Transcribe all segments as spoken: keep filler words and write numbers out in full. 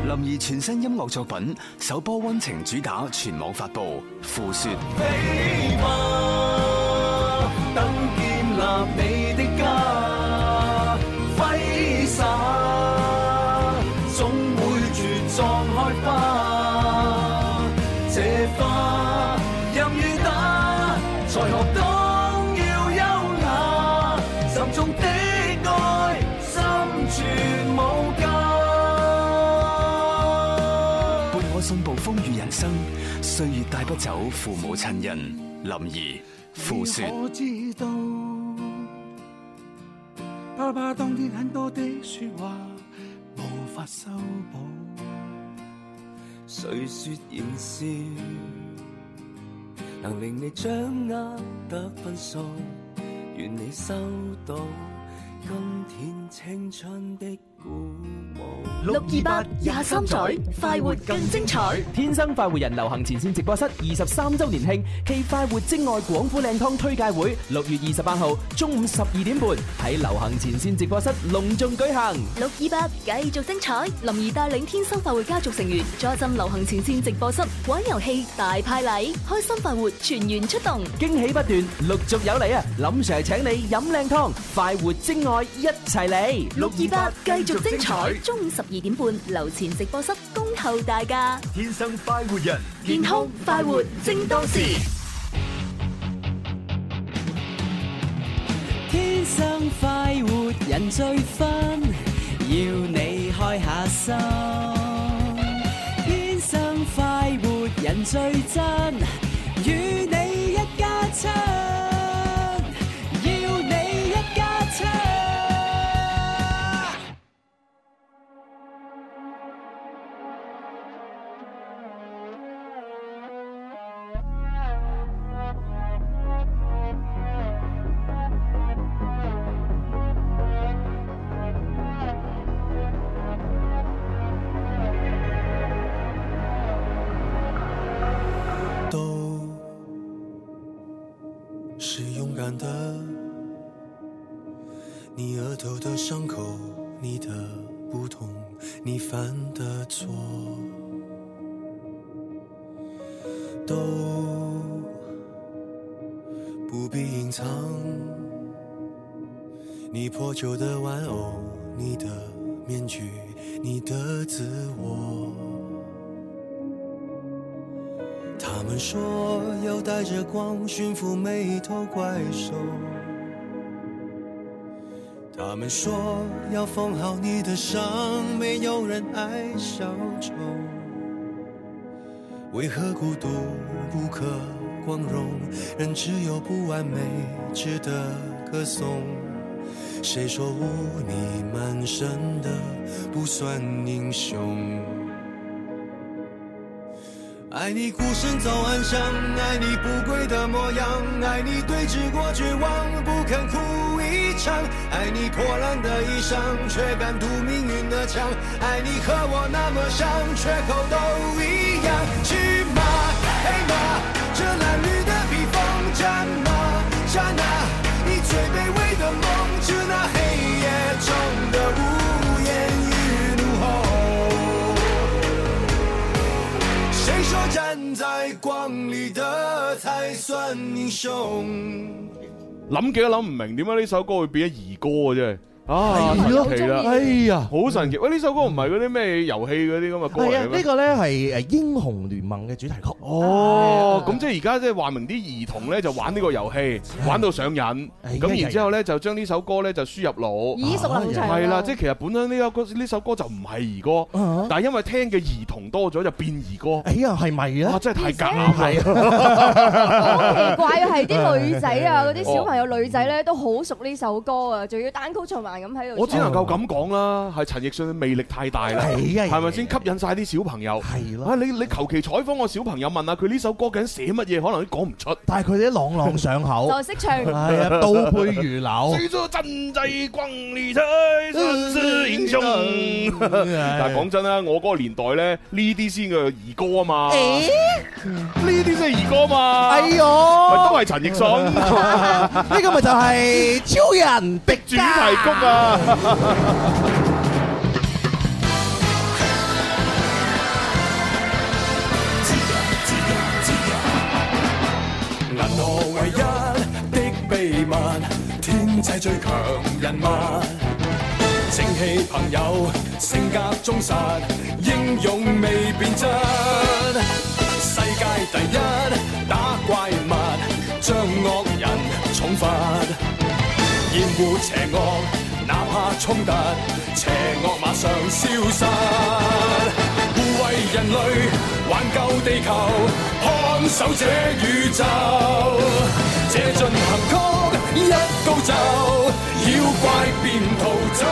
林兒全新音樂作品首波溫情主打全網發布，付說飛吧，等建立你的家，揮灑，總會茁壯開花。這花任雨打，才學懂要優雅，沉重的愛，心存無價。 伴我信步風雨人生，歲月帶不走父母親人。林兒付說。 我知道，爸爸當天很多的說話無法修補，誰說言笑能令你掌握得分數？願你收到今天青春的鼓舞。 六二八廿三載，快活更精彩。 天生快活人流行前線直播室二十三周年慶暨快活精愛廣府靚湯推介會，六月二十八號中午十二點半喺流行前線直播室隆重舉行。 六二八繼續精彩，林兒帶領天生快活家族成員坐鎮流行前線直播室玩遊戲大派禮，開心快活全員出動， 驚喜不斷，陸續有嚟啊！林 Sir 請你飲靚湯，快活精愛一齊嚟。 六二八繼續精彩，中午十二點半樓前直播室恭候大家。 天生快活人， 健康快活正當時。 天生快活人最分，要你開下心。天生快活人最真，與你一家親，要你一家親。 你額頭的傷口，你的不同，你犯的錯，都不必隱藏。你破舊的玩偶，你的面具，你的自我。他們說要帶着光馴服每一頭怪獸，他們說要縫好你的傷，沒有人愛小丑。為何孤獨不可光榮，人只有不完美值得歌頌？誰說污泥滿身的不算英雄？愛你孤身走暗巷，愛你不跪的模樣，愛你對峙過絕望不肯哭一場，愛你破爛的衣裳卻敢堵命運的槍，愛你和我那麼像缺口都一樣。去嗎黑嗎，這襤褸的披風，戰嗎戰啊，你最卑微的夢，致那黑夜中的無言與怒吼。誰說站在光裡的才算英雄？ 諗極都諗唔明點解呢首歌會變咗兒歌嘅啫。啊， 神奇啦！哎呀， 好神奇！喂，呢首歌唔係嗰啲咩遊戲嗰啲咁嘅歌嚟嘅咩？ 係啊，呢個咧係誒英雄聯盟嘅主題曲。 哦，咁即係而家即係話明啲兒童咧就玩呢個遊戲，玩到上癮。咁然之後咧就將呢首歌咧就輸入腦。 耳熟能詳。 係啦，即係其實本身呢首歌呢首歌就唔係兒歌，但係因為聽嘅兒童多咗就變兒歌。 哎呀，係咪咧？ 哇，真係太夾啦！係好奇怪啊，係啲女仔啊，嗰啲小朋友女仔咧都好熟呢首歌啊，仲要單曲循環咁喺度。 我只能夠咁講啦，係陳奕迅嘅魅力太大啦，係咪先吸引晒啲小朋友？係咯，你你求其採訪個小朋友問下佢呢首歌究竟寫乜嘢，可能都講唔出。 但係佢哋啲朗朗上口， 就識唱。 係啊，倒背如流。 雖說真在光裡才算是英雄。但係講真啦，我嗰個年代咧，呢啲先嘅兒歌啊嘛。呢啲先係兒歌嘛。 哎呦， 都係陳奕迅。 呢個咪就係超人的主題曲啊！ 物，天際最強人物。正氣朋友，性格忠實，英勇未變質。世界第一打怪物，將惡人重罰。厭惡邪惡，哪怕衝突，邪惡馬上消失。護衛人類，挽救地球，看守這宇宙。這進行曲一高奏，妖怪便逃走。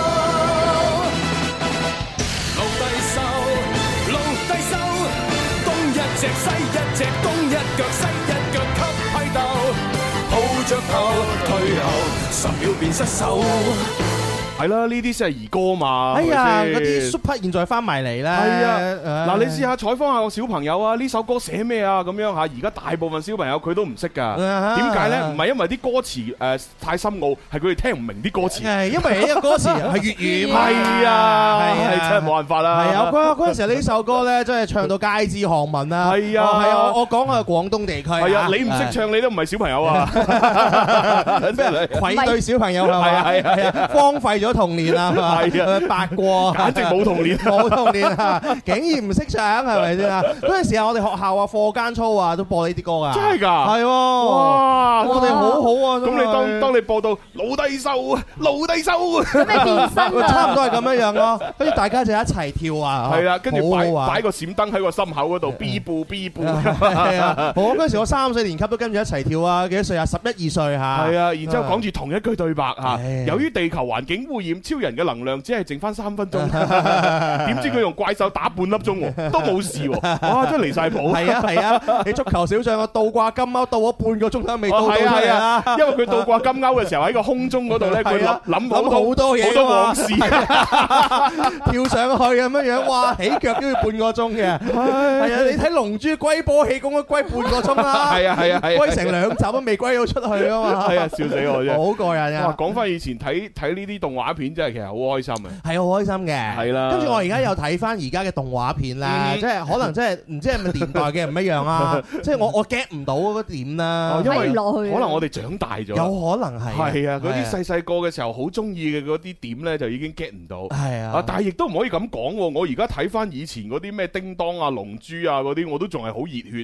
奴隸獸，奴隸獸，東一隻西一隻，東一腳西一腳給批鬥，抱着頭退後，十秒便失手。 係啦，呢啲先係兒歌嘛。 哎呀，嗰啲 super 現在翻埋嚟啦。 係啊，嗱，你試下採訪下個小朋友啊，呢首歌寫咩啊？咁樣嚇，而家大部分小朋友佢都唔識㗎。點解咧？唔係因為啲歌詞誒太深奧，係佢哋聽唔明啲歌詞。 係因為呢個歌詞係粵語。 係啊，係真係冇辦法啦。 係啊，嗰嗰陣時呢首歌咧，真係唱到街知巷聞啦。 係啊， 係啊，我講嘅係廣東地區。 係啊，你唔識唱，你都唔係小朋友啊。 咩愧對小朋友係嘛？係係啊，荒廢咗童年啊！係啊，白過， 簡直冇童年， 冇童年啊！竟然唔識唱，係咪先啊？嗰陣時啊，我哋學校啊，課間操啊，都播呢啲歌噶。 真係㗎？ 係喎！ 哇！ 我哋好好啊！ 咁你當當你播到奴隸獸，奴隸獸， 咁咩變身啊？ 差唔多係咁樣樣咯。跟住大家就一齊跳啊！ 係啦，跟住擺擺個閃燈喺個心口嗰度，B 步 B 步。 係啊！我嗰陣時我三四年級都跟住一齊跳啊！幾多歲啊？十一二歲嚇。係啊！然之後講住同一句對白嚇。由於地球環境污染，超人嘅能量只係剩翻三分鐘，點知佢用怪獸打半粒鐘喎，都冇事喎，哇！真係離曬譜。 係啊係啊，你足球小將啊倒掛金鈎倒咗半個鐘都未到到出嚟啊！ 因為佢倒掛金鈎嘅時候喺個空中嗰度咧，佢諗諗諗好多嘢， 好多往事， 跳上去咁樣樣，哇！起腳都要半個鐘嘅。係啊，你睇《龍珠》龜波氣功都龜半個鐘啦。係啊係啊係，龜成兩集都未龜到出去啊嘛。 係啊，笑死我啫！ 好過癮啊！ 哇，講翻以前睇睇呢啲動畫片真係其實好開心啊！ 係好開心嘅， 係啦。 跟住我而家又睇翻而家嘅動畫片咧，即係可能即係唔知係咪年代嘅唔一樣啊！即係我我 get 唔到嗰點啦， 因為可能我哋長大咗， 有可能係係啊！嗰啲細細個嘅時候好中意嘅嗰啲點咧，就已經 get 唔到。 係啊， 但係亦都唔可以咁講喎。我而家睇翻以前嗰啲咩叮當啊、龍珠啊嗰啲，我都仲係好熱血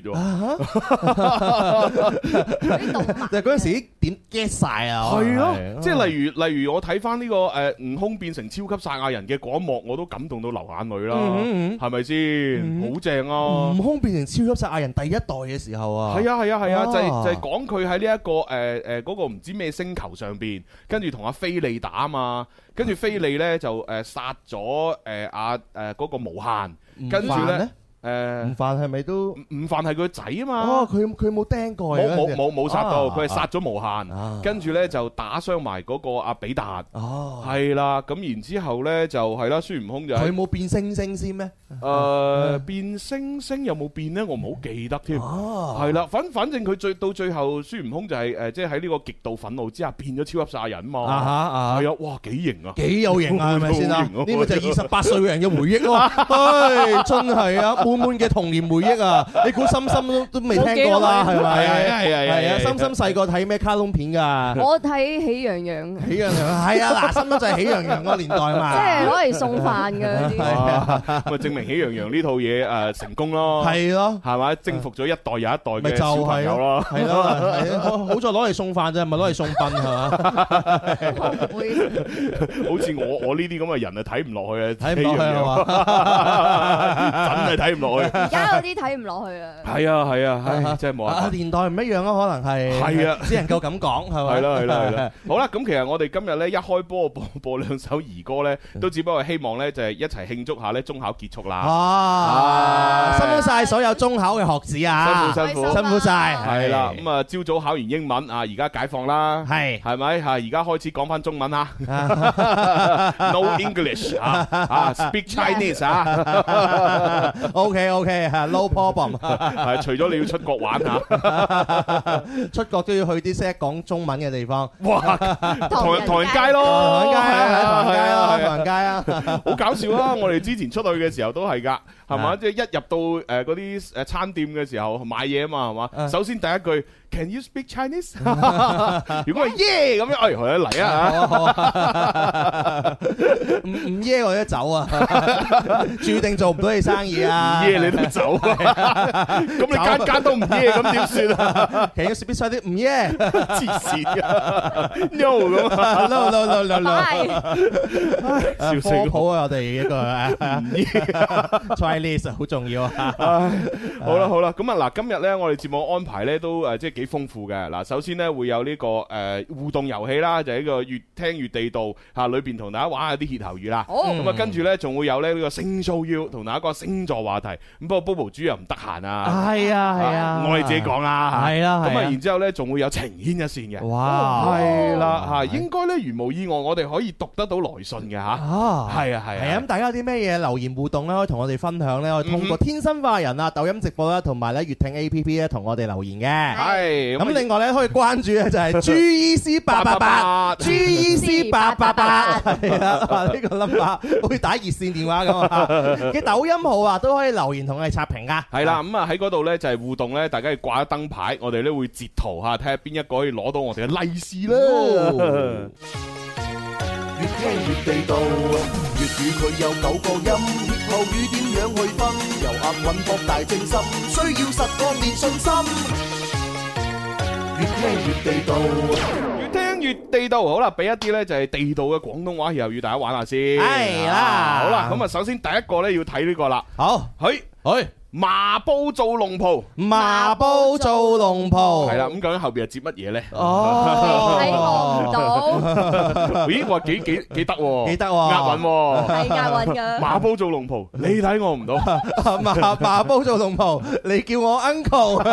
喎。 就嗰陣時啲點 get 曬啊！ 係咯，即係例如例如我睇翻呢個誒悟空變成超級賽亞人嘅嗰一幕，我都感動到流眼淚啦，係咪先？好正啊！ 悟空變成超級賽亞人第一代嘅時候啊， 係啊係啊係啊，就係就係講佢喺呢一個誒誒嗰個唔知咩星球上邊，跟住同阿菲利打啊嘛，跟住菲利咧就誒殺咗誒阿誒嗰個無限，跟住咧。誒悟飯係咪都悟飯係佢個仔啊嘛？ 哦，佢佢冇釘過， 冇冇冇冇殺到，佢係殺咗無限，跟住咧就打傷埋嗰個阿比達。哦，係啦，咁然之後咧就係啦，孫悟空就佢冇變星星先咩？ 誒變星星有冇變咧？我唔好記得添。哦，係啦，反反正佢最到最後，孫悟空就係誒即係喺呢個極度憤怒之下變咗超級賽亞人嘛。啊哈啊！係啊，哇幾型啊！ 幾有型啊？係咪先啊？呢個就係二十八歲嘅人嘅回憶咯。唉，真係啊！滿滿嘅童年回憶啊！你估心心都都未聽過啦，係咪？係啊係啊係啊！心心細個睇咩卡通片㗎？ 我睇喜羊羊。 喜羊羊係啊！嗱，心心就係喜羊羊嗰個年代嘛。 即係攞嚟送飯嘅嗰啲。 咁啊，證明喜羊羊呢套嘢誒成功咯。係咯， 係咪？征服咗一代又一代嘅小朋友咯。 係咯，係咯，好在攞嚟送飯啫，唔係攞嚟送殯係嘛？ 好似我我呢啲咁嘅人啊，睇唔落去啊， 睇唔落去係嘛？ 真係睇唔落去。 而家嗰啲睇唔落去啊！ 係啊係啊，唉，真係冇啊！ 年代唔一樣咯，可能係係啊， 只能夠咁講係咪？ 係啦係啦係啦。好啦，咁其實我哋今日咧一開波播播兩首兒歌咧，都只不過希望咧就係一齊慶祝下咧中考結束啦。 啊！辛苦晒所有中考嘅學子啊！ 辛苦辛苦辛苦晒。 係啦，咁啊朝早考完英文啊，而家解放啦。係係咪嚇？而家開始講翻中文啊！No English 啊啊，Speak Chinese 啊 ！OK OK，No problem。 係除咗你要出國玩嚇， 出國都要去啲識得講中文嘅地方。 哇！唐人唐人街咯， 唐人街啊，唐人街啊，唐人街啊， 好搞笑啊！我哋之前出去嘅時候都係㗎，係嘛？即係一入到誒嗰啲誒餐店嘅時候買嘢啊嘛，係嘛？首先第一句 Can you speak Chinese？ 如果係耶咁樣，哎，好嚟啊！ 唔唔耶我都走啊，注定做唔到你生意啊！ 唔耶你都走啊！咁你間間都唔耶，咁點算啊？ Can you speak Chinese？ 唔耶， 黐線啊 ！No 咁啊 ！No no no no no！ 笑死科普啊！我哋一個 Chinese 好重要啊！ 好啦好啦，咁啊嗱，今日咧我哋節目安排咧都誒即係幾豐富嘅。嗱，首先咧會有呢個誒互動遊戲啦，就係呢個越聽越地道嚇，裏邊同大家玩下啲歇後語啦。咁啊跟住咧仲會有咧呢個星 show 要同大家講星座話題。咁不過 Bobo 豬又唔得閒啊。 係啊係啊， 我哋自己講啦。 係啊。 咁啊然之後咧仲會有情牽一線嘅。 哇！ 係啦嚇，應該咧如無意外，我哋可以讀得到來信嘅嚇。啊，係啊係啊。係啊， 咁大家有啲咩嘢留言互動咧，可以同我哋分享咧，可以通過天生化人啊、抖音直播啦，同埋咧粵聽 A P P 咧，同我哋留言嘅。 係。 咁另外咧可以關注咧就係 G E C 八八八 G E C 八八八，係啊，呢個 number 好似打熱線電話咁啊。嘅抖音號啊都可以留言同我哋刷屏噶。 係啦，咁啊喺嗰度咧就係互動咧，大家要掛燈牌，我哋咧會截圖嚇，睇下邊一個可以攞到我哋嘅利是啦。 越聽越地道，粵語佢有九個音，歇後語點樣去分？由押韻博大精深，需要實幹練信心。越聽越地道， 越聽越地道。好啦，俾一啲咧就係地道嘅廣東話歇後語，大家玩下先。 係啦， 好啦，咁啊，首先第一個咧要睇呢個啦。 好， 去去。麻煲做龍袍， 麻煲做龍袍， 係啦，咁究竟後邊係接乜嘢咧？ 哦，睇我唔到。 咦，話幾幾幾得喎？ 幾得喎？ 押韻喎， 係押韻㗎。 麻煲做龍袍，你睇我唔到。 麻麻煲做龍袍，你叫我 uncle。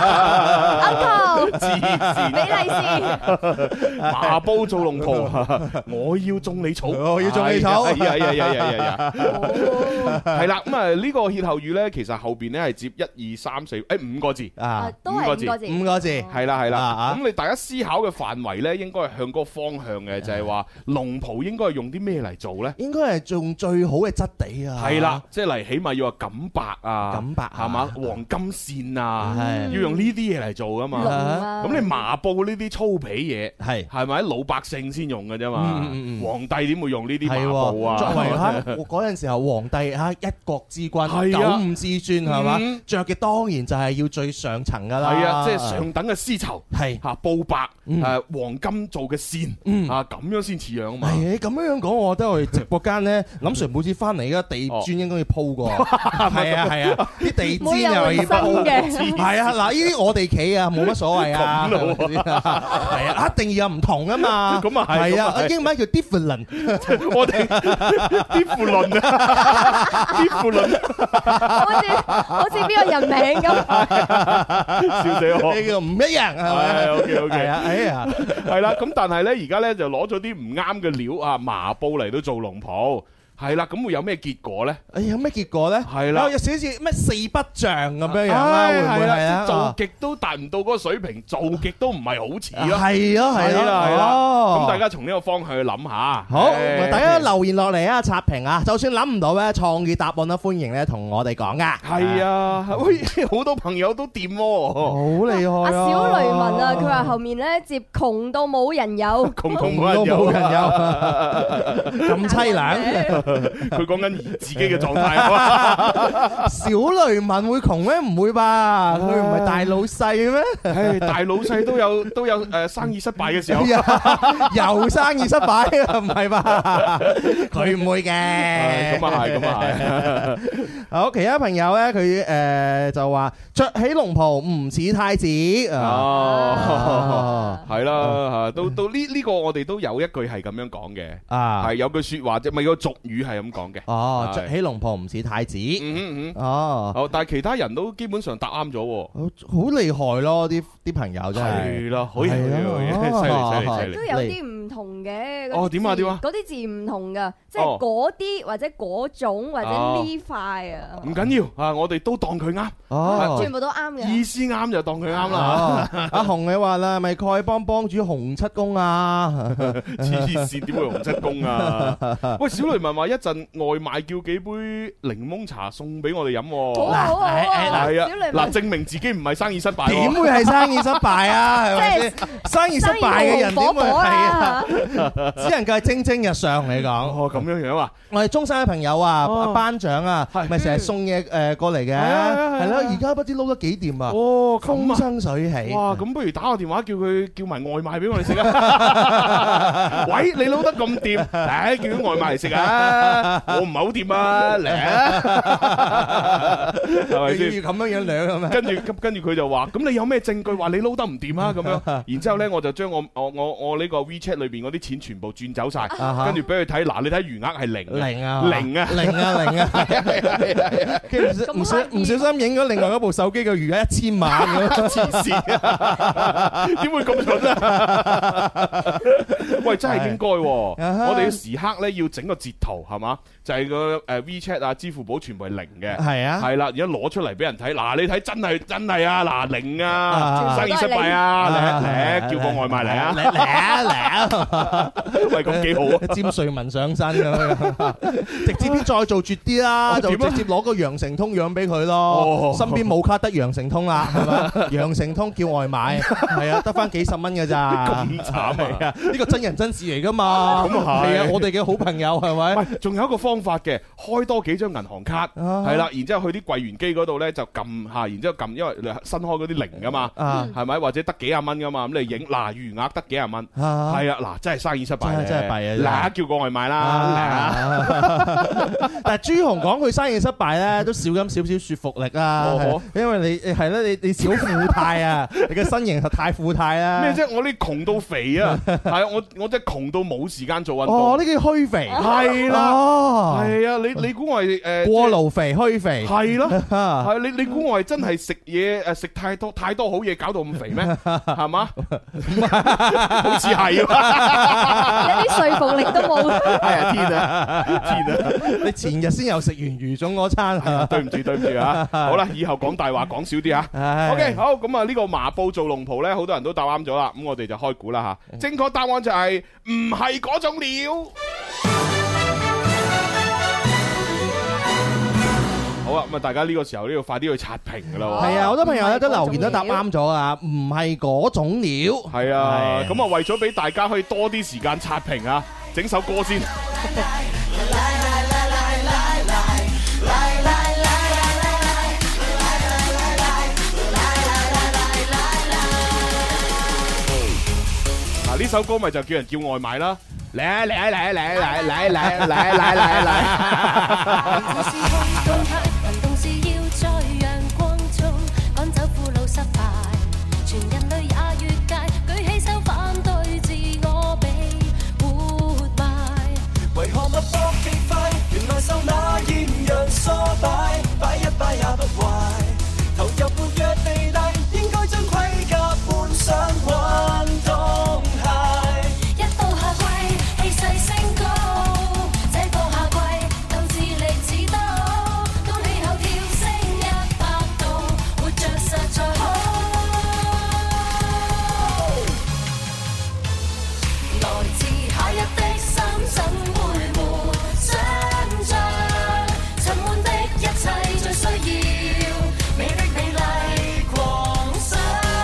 uncle， 黐線， 俾利是。 麻煲做龍袍，我要種你草， 我要種你草。 係啊係啊係啊係啊！係啦，咁啊呢個歇後語咧，其實後邊咧係接一二三四誒五個字啊， 都係五個字， 五個字係啦係啦。咁你大家思考嘅範圍咧，應該係向嗰個方向嘅，就係話龍袍應該係用啲咩嚟做咧？ 應該係用最好嘅質地啊。 係啦，即係嚟起碼要話錦白啊， 錦白係嘛，黃金線啊， 係要用呢啲嘢嚟做噶嘛。咁你麻布呢啲粗皮嘢係係咪老百姓先用嘅啫嘛？皇帝點會用呢啲麻布啊？ 作為嚇嗰陣時候皇帝嚇一國之君，九五之尊。係嘛？着嘅當然就係要最上層噶啦。 係啊，即係上等嘅絲綢， 係嚇布白，誒黃金做嘅線，嚇咁樣先似樣啊嘛。 係咁樣樣講，我覺得我哋直播間咧，林 Sir 每次翻嚟嘅地磚應該要鋪過。係啊係啊，啲地氈又要鋪嘅。係啊，嗱呢啲我哋企啊，冇乜所謂啊。係啊，一定要有唔同啊嘛。咁啊係。係啊，英文叫 different。 我哋 different 啊 ，different。 好似邊個人名咁， 笑死我！ 呢個唔一樣係咪 ？OK OK， 係啊，哎呀， 係啦。咁但係咧，而家咧就攞咗啲唔啱嘅料啊，麻布嚟到做龍袍。係啦，咁會有咩結果咧？ 誒，有咩結果咧？ 係啦， 有少少咩四不像咁樣樣啦，會唔會係啊？ 做極都達唔到嗰個水平，做極都唔係好似咯。 係咯，係咯， 係啦。 哦， 咁大家從呢個方向去諗下。 好，大家留言落嚟啊，刷屏啊！就算諗唔到咧，創意答案都歡迎咧，同我哋講噶。 係啊，喂，好多朋友都掂喎， 好厲害啊！ 阿小雷文啊，佢話後面咧接窮到冇人有， 窮到冇人有， 咁凄涼。 佢講緊自己嘅狀態啊！ 小雷文會窮咩？唔會吧？佢唔係大老細咩？ 唉，大老細都有都有誒生意失敗嘅時候， 又生意失敗啊？唔係吧？佢唔會嘅。 咁啊係，咁啊係。 好，其他朋友咧，佢誒就話着起龍袍唔似太子。 哦，係啦嚇，到到呢呢個我哋都有一句係咁樣講嘅啊，係有句説話啫，咪個俗語係咁講嘅。 哦，着起龍袍唔似太子。 嗯嗯嗯。 哦， 好，但係其他人都基本上答啱咗。 好厲害咯！啲啲朋友真係。 係啦，好嘢，好嘢，犀利犀利犀利。 都有啲唔同同嘅。 哦，點啊點啊？ 嗰啲字唔同㗎，即係嗰啲或者嗰種或者呢塊啊。 唔緊要啊，我哋都當佢啱。 哦， 全部都啱嘅。 意思啱就當佢啱啦。 阿紅你話啦，咪丐幫幫主洪七公啊？ 黐線，點會洪七公啊？喂，小雷文話一陣外賣叫幾杯檸檬茶送俾我哋飲。 好啊好啊， 係啊，嗱，證明自己唔係生意失敗。 點會係生意失敗啊？係咪先？生意失敗嘅人點會係啊？只能夠係蒸蒸日上嚟講。 哦，咁樣樣啊？ 我哋中山嘅朋友啊，班長啊，咪成日送嘢誒過嚟嘅，係咯。而家不知撈得幾掂啊！哦，風生水起。哇， 咁不如打個電話叫佢叫埋外賣俾我哋食啊！喂，你撈得咁掂，誒，叫啲外賣嚟食啊！我唔係好掂啊，嚟啊！係咪先？ 要咁樣樣兩咁啊？ 跟住跟住佢就話：咁你有咩證據話你撈得唔掂啊？咁樣，然之後咧我就將我我我我呢個 WeChat 裏邊嗰啲錢全部轉走晒，跟住俾佢睇。嗱，你睇餘額係零， 零啊， 零啊， 零啊，零啊，係啊係啊係啊！跟住唔小唔小心影咗另外一部手機嘅餘額一千萬咁， 黐線啊！點會咁蠢啊？喂，真係應該，我哋要時刻咧要整個截圖係嘛？就係個誒 WeChat 啊、支付寶全部係零嘅，係啊，係啦，而家攞出嚟俾人睇，嗱你睇真係真係啊，嗱零啊，生意失敗啊，嚟嚟叫個外賣嚟啊， 嚟嚟啊嚟啊， 喂咁幾好啊， 詹瑞文上身咁樣，直接啲再做絕啲啦，就直接攞個羊城通養俾佢咯，身邊冇卡得羊城通啦，係嘛？羊城通叫外賣，係啊，得翻幾十蚊㗎咋， 咁慘啊！ 呢個真人真事嚟㗎嘛， 咁啊係， 係啊，我哋嘅好朋友係咪？ 喂，仲有一個方法嘅，開多幾張銀行卡，係啦，然之後去啲櫃員機嗰度咧就撳下，然之後撳，因為新開嗰啲零㗎嘛，係咪？或者得幾廿蚊㗎嘛，咁你影嗱餘額得幾廿蚊，係啊，嗱真係生意失敗， 真係弊啊！ 嗱叫個外賣啦， 但係朱紅講佢生意失敗咧，都少咁少少說服力啊，因為你係咧，你你小富態啊，你嘅身形太富態啦。 咩啫？我呢窮到肥啊，係啊，我我真係窮到冇時間做運動。 哦，呢叫虛肥。 係啦，係啊，你你估我係誒過勞肥虛肥？ 係咯，係你你估我係真係食嘢誒食太多太多好嘢搞到咁肥咩？係嘛？好似係，有啲說服力都冇。 係啊，天啊，天啊！ 你前日先又食完魚粽嗰餐， 對唔住對唔住啊！好啦，以後講大話講少啲啊。OK，好，咁啊呢個麻布做龍袍咧，好多人都答啱咗啦。咁我哋就開估啦吓。正確答案就係唔係嗰種料。好啦，咁啊大家呢個時候都要快啲去刷屏噶啦。 係啊，好多朋友咧都留言都答啱咗啊，唔係嗰種料。 係啊，咁啊為咗俾大家可以多啲時間刷屏啊，整首歌先。嗱，呢首歌咪就叫人叫外賣啦，嚟啊嚟啊嚟啊嚟啊嚟啊嚟啊嚟啊嚟啊嚟啊嚟啊！ 行動是要在陽光中趕走苦惱失敗，全人類也越界，舉起手反對自我被活埋。 為何脈搏極快？原來受那豔陽唆擺，擺一擺也不壞。投入活躍地帶，應該將盔甲換上運動鞋。 一到夏季，氣勢升高，這個夏季鬥志力似刀，當氣候跳升一百度，活着實在好。來自夏日的深深陪伴，想像沉悶的一切最需要美的美麗狂想，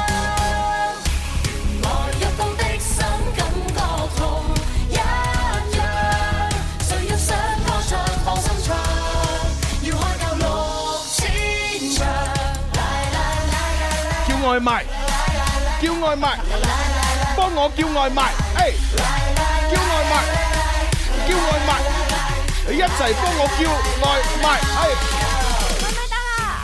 來躍動的心感覺同一樣，誰要想歌唱放心唱，要開夠六千場。 叫外賣，叫外賣，幫我叫外賣，誒，叫外賣，叫外賣，你一齊幫我叫外賣，誒。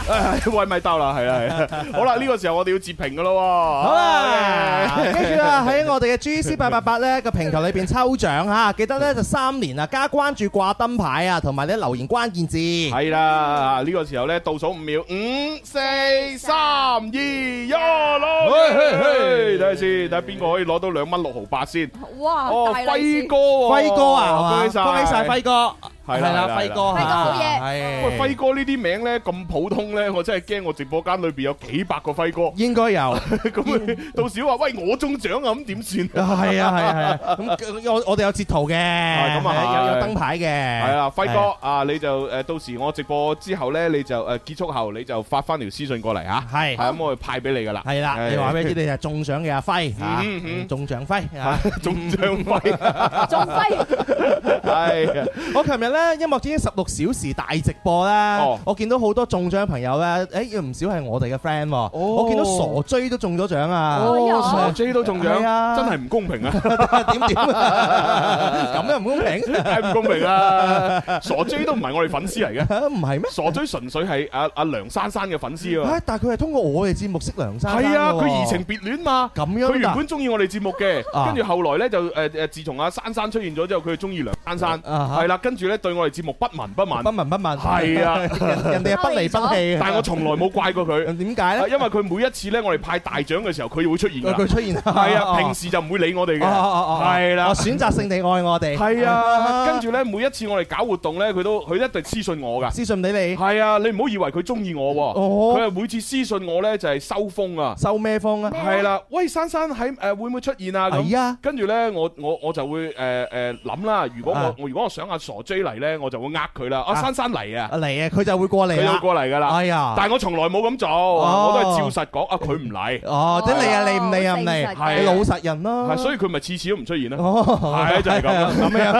喂咪得啦，係啦係啦。好啦，呢個時候我哋要截屏噶咯。 好啦，跟住啊喺我哋嘅 G C 八八八咧個平台裏邊抽獎嚇，記得咧就三年啊加關注掛燈牌啊，同埋咧留言關鍵字。 係啦，呢個時候咧倒數五秒，五、四、三、二、一，攞！睇下先，睇下邊個可以攞到兩蚊六毫八先。 哇！ 哦，輝哥喎， 輝哥啊， 恭喜曬， 恭喜曬輝哥。 係啦， 輝哥， 輝哥好嘢。 喂，輝哥呢啲名咧咁普通咧，我真係驚我直播間裏邊有幾百個輝哥。 應該有。 咁到時話喂我中獎啊，咁點算？ 係啊係啊係啊。咁我我哋有截圖嘅， 咁啊有有燈牌嘅。 係啦，輝哥啊，你就誒到時我直播之後咧，你就誒結束後你就發翻條私信過嚟嚇。係。係咁，我會派俾你噶啦。係啦，你話俾你知你係中獎嘅阿輝嚇，中獎輝嚇， 中獎輝， 中輝。 係啊， 我琴日咧音樂之星十六小時大直播咧，我見到好多中獎嘅朋友咧，誒唔少係我哋嘅 friend 喎。我見到傻追都中咗獎啊！ 傻追都中獎，真係唔公平啊！ 點點咁樣唔公平？ 係唔公平啊！傻追都唔係我哋粉絲嚟嘅， 唔係咩？ 傻追純粹係阿阿梁珊珊嘅粉絲啊！ 但係佢係通過我哋節目識梁珊珊。 係啊，佢移情別戀嘛。 咁樣佢原本中意我哋節目嘅，跟住後來咧就誒誒，自從阿珊珊出現咗之後，佢就中意梁珊珊。係啦，跟住咧對我哋節目不聞不問， 不聞不問。 係啊， 人哋係不離不棄。 但係我從來冇怪過佢。 點解咧？ 因為佢每一次咧，我哋派大獎嘅時候，佢會出現㗎。 佢出現。 係啊，平時就唔會理我哋嘅。係啦， 選擇性地愛我哋。 係啊，跟住咧每一次我哋搞活動咧，佢都佢一定私信我㗎。 私信俾你。 係啊，你唔好以為佢中意我喎。佢係每次私信我咧就係收風啊。 收咩風啊？ 係啦，喂，珊珊喺誒會唔會出現啊？ 係啊。 跟住咧，我我我就會誒誒諗啦。如果我我如果我想阿傻追嚟咧，我就會呃佢啦。阿珊珊嚟啊！ 嚟啊！佢就會過嚟啦。 佢會過嚟㗎啦。 哎呀！ 但係我從來冇咁做，我都係照實講。啊，佢唔嚟。 哦，即係嚟啊！嚟唔嚟啊？唔嚟。係老實人咯。 係，所以佢咪次次都唔出現啦。 哦， 係就係咁咁樣。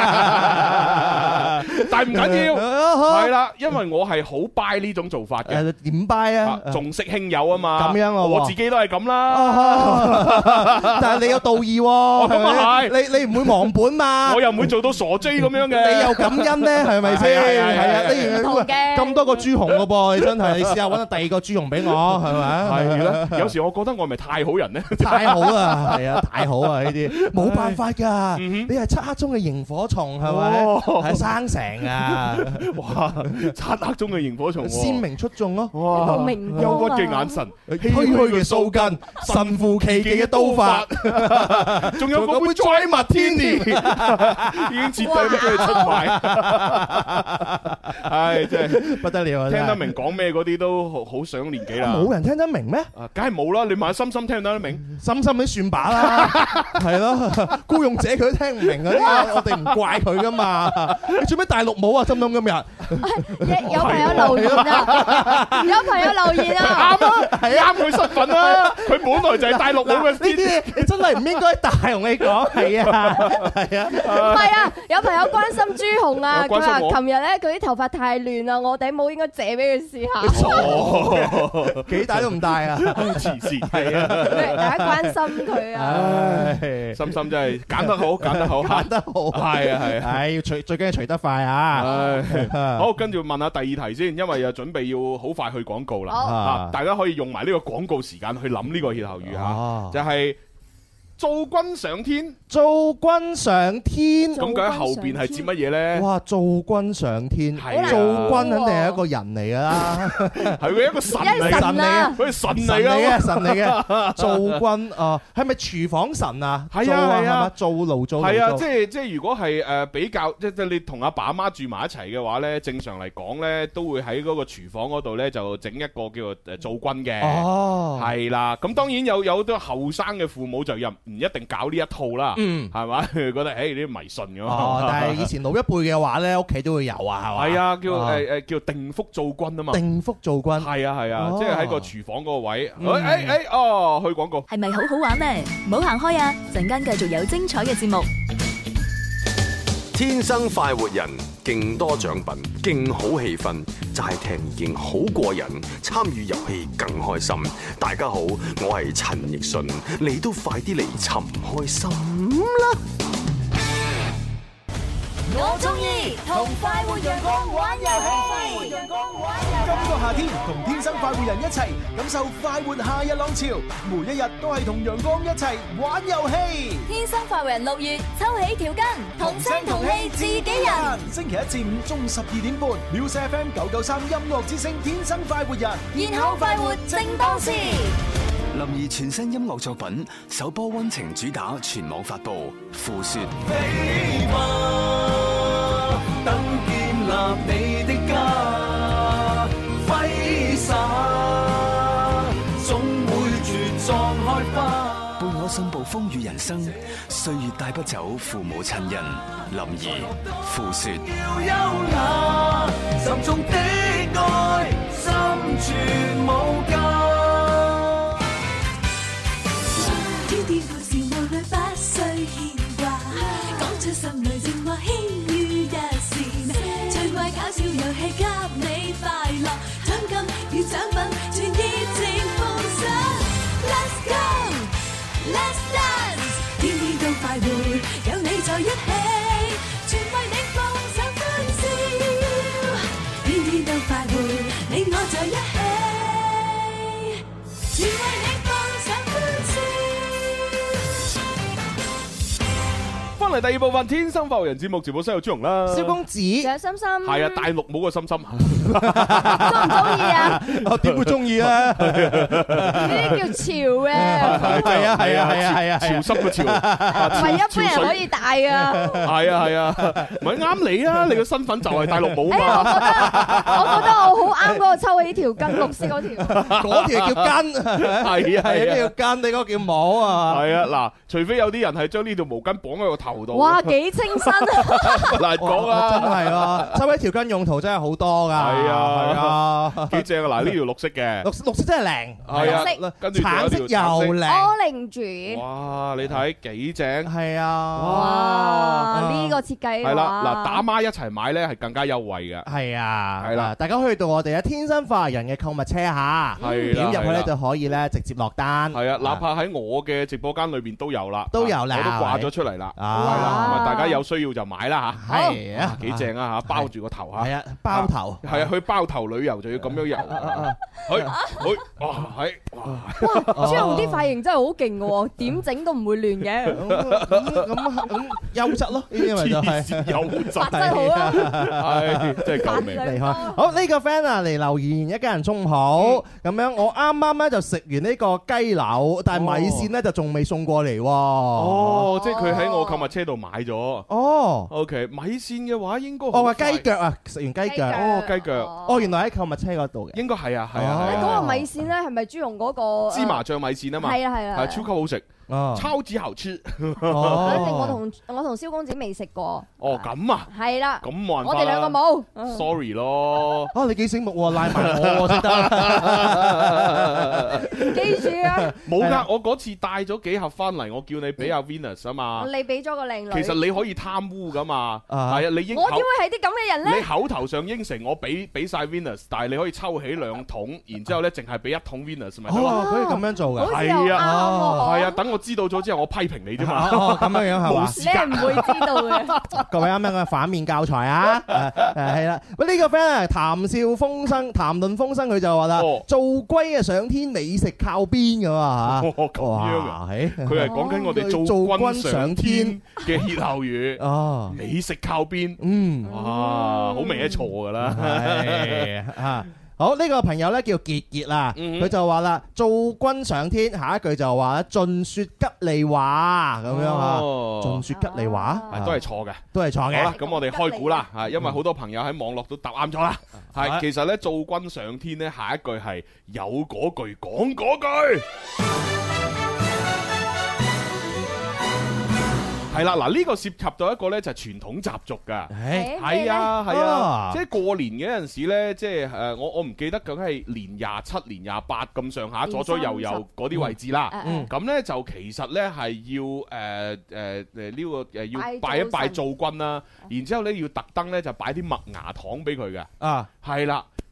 但係唔緊要，係啦，因為我係好 buy 呢種做法嘅。 誒點 buy 啊？ 重色輕友啊嘛。 咁樣啊！ 我自己都係咁啦。 但係你有道義喎。 咁啊係。 你你唔會忘本嘛？ 我又唔會做到傻 J 咁樣嘅。 你又感恩咧，係咪先？係啊，你咁多個朱紅嘅噃，你真係，你試下揾第二個朱紅俾我，係咪？ 係啦。有時我覺得我係咪太好人咧？ 太好啦，係啊，太好啊！呢啲冇辦法㗎，你係漆黑中嘅螢火蟲，係咪？係生成啊！哇， 漆黑中嘅螢火蟲， 鮮明出眾咯！ 哇，憂鬱嘅眼神， 唏噓嘅鬚根，神乎其技嘅刀法， 仲有嗰杯 Dry Martini，已經徹底俾佢出賣。係真係不得了啊！ 聽得明講咩嗰啲都好好上年紀啦。 冇人聽得明咩？ 啊，梗係冇啦！你問下心心聽得明？ 心心你算把啦，係咯，孤勇者佢都聽唔明嗰啲，我哋唔怪佢噶嘛。你做咩大陸冇啊？心心今日有朋友留言啊，有朋友留言啊， 啱啊，係啱佢身份啦。佢本來就係大陸冇嘅。呢啲你真係唔應該大同你講，係啊，係啊， 唔係啊，有朋友關心朱紅啊，佢話琴日咧佢啲頭髮太亂啦，我頂帽應該借俾佢試下。 哦， 幾大都唔大啊， 黐線係啊， 大家關心佢啊， 心心真係揀得好，揀得好， 揀得好， 係啊係， 係要除最緊要除得快啊！ 好，跟住問下第二題先，因為又準備要好快去廣告啦，啊，大家可以用埋呢個廣告時間去諗呢個歇後語嚇，就係造君上天。 造君上天， 咁佢喺後邊係指乜嘢咧？ 哇！造君上天，造君肯定係一個人嚟噶啦， 係佢一個神嚟， 神嚟嘅， 佢係神嚟嘅， 神嚟嘅。造君啊，係咪廚房神啊？ 係啊係啊， 造爐造係啊，即係即係如果係誒比較，即係你同阿爸阿媽住埋一齊嘅話咧，正常嚟講咧，都會喺嗰個廚房嗰度咧就整一個叫做誒造君嘅。哦，係啦，咁當然有有好多後生嘅父母就又唔一定搞呢一套啦。嗯，係嘛？覺得誒呢啲迷信咁哦，但係以前老一輩嘅話咧，屋企都會有啊，係嘛？ 係啊，叫誒誒叫定福造君啊嘛。 定福造君。 係啊係啊，即係喺個廚房嗰個位。誒誒誒，哦，去廣告。 係咪好好玩呢？唔好行開啊！陣間繼續有精彩嘅節目。 天生快活人，勁多獎品，勁好氣氛，齋聽已經好過癮，參與遊戲更開心。大家好，我係陳奕迅，你都快啲嚟尋開心啦！ 我中意同快活陽光玩遊戲。今個夏天，同天生快活人一齊感受快活夏日浪潮，每一日都係同陽光一齊玩遊戲。 天生快活人六月抽起條筋，同聲同氣自己人。 星期一至五中午十二點半 ，Music F M 九九三音樂之聲天生快活人， 然後快活正當時。 林兒全新音樂作品首波溫情主打全網發布，《付說》。 飛吧，等建立你的家，揮灑，總會茁壯開花。 伴我信步風雨人生，歲月帶不走父母親人。林兒，《付說》。 要優雅，沉重的愛，心存無價。 天故事無慮不需牽掛，講出心裏情話輕於一線，趣怪搞笑遊戲給你快樂，獎金與獎品全熱情奉上。Let's go, let's dance， 天天都快活，有你在一起，全為你放上歡笑，天天都快活，你我在一起，全為你放上歡笑。 翻嚟第二部分《天生快活人》節目，直播室有朱紅啦， 蕭公子， 仲有心心， 係啊，大陸冇個心心， 中唔中意啊？ 我點會中意啊？ 呢啲叫潮嘅， 係啊係啊係啊係啊， 潮濕嘅潮， 唔係一般人可以戴噶。 係啊係啊，唔係啱你啊！你個身份就係大陸冇哎呀，我覺得我覺得我好啱嗰個抽起條筋，綠色嗰條， 嗰條叫筋， 係啊係啊， 呢條筋，你嗰個叫帽啊。 係啊，嗱，除非有啲人係將呢條毛巾綁喺個頭度。 哇，幾清新啊！ 難講啊， 真係啊，抽起條筋用途真係好多㗎。 係啊係啊， 幾正啊！嗱，呢條綠色嘅， 綠綠色真係靚， 係啊，跟住橙色又靚。 Orange， 哇！你睇幾正， 係啊， 哇！呢個設計係啦，嗱，打孖一齊買咧係更加優惠嘅。 係啊， 係啦， 大家可以到我哋嘅天生快活人嘅購物車嚇，點入去咧就可以咧直接落單。 係啊，哪怕喺我嘅直播間裏邊都有啦， 都有啦， 我都掛咗出嚟啦。係啊， 啦，大家有需要就買啦嚇。 係啊， 幾正啊嚇，包住個頭嚇。 係啊，包頭。 係啊，去包頭旅遊就要咁樣遊。去去，哇係哇！ 哇，朱紅啲髮型真係好勁嘅喎，點整都唔會亂嘅。 咁咁咁優質咯，呢啲咪就係優質， 髮質好啊， 係真係救命！ 厲害。好，呢個 friend 啊嚟留言，一家人中午好。咁樣我啱啱咧就食完呢個雞柳，但係米線咧就仲未送過嚟喎。 哦，即係佢喺我購物車度買咗。 哦 ，OK，米線嘅話應該我話雞腳啊，食完雞腳。 哦，雞腳。 哦，原來喺購物車嗰度嘅。 應該係啊，係啊。 嗰個米線咧係咪朱紅嗰個芝麻醬米線啊嘛？ 係啊係啊， 係超級好食。超級好吃。 哦， 反正我同我同蕭公子未食過。 哦，咁啊。 係啦。 咁冇辦法啦。 我哋兩個冇。 Sorry 咯。 啊，你幾醒目喎，拉埋我先得。 記住啊。 冇㗎，我嗰次帶咗幾盒翻嚟，我叫你俾阿 Venus 啊嘛。 你俾咗個靚女。 其實你可以貪污㗎嘛。係啊，你應。 我點會係啲咁嘅人咧？ 你口頭上應承我俾俾曬 Venus，但係你可以抽起兩桶，然之後咧淨係俾一桶 Venus 咪得咯。 可以咁樣做㗎。 係啊，係啊，等我知道咗之後，我批評你啫嘛。 哦，咁樣樣係嘛？ 你係唔會知道嘅。 各位啱啱嘅反面教材啊，誒係啦。喂，呢個 friend 啊，談笑風生，談論風生，佢就話啦，做龜啊上天，美食靠邊咁啊嚇。 咁樣啊？佢係講緊我哋做軍上天嘅歇後語。哦，美食靠邊。嗯，哇，好明顯錯㗎啦。 係啊。好，呢個朋友咧叫傑傑啦，佢就話啦，做軍上天，下一句就話咧，盡說吉利話咁樣嚇，盡說吉利話， 都係錯嘅， 都係錯嘅。 好啦，咁我哋開估啦，嚇，因為好多朋友喺網絡都答啱咗啦。係，其實咧做軍上天咧，下一句係有嗰句講嗰句。係啦，嗱呢個涉及到一個咧就係傳統習俗㗎，係啊係啊，即係過年嘅陣時咧，即係誒我我唔記得究竟係年廿七、年廿八咁上下左左右右嗰啲位置啦。咁咧就其實咧係要誒誒誒呢個誒要拜一拜灶君啦，然之後咧要特登咧就擺啲麥芽糖俾佢嘅。啊，係啦。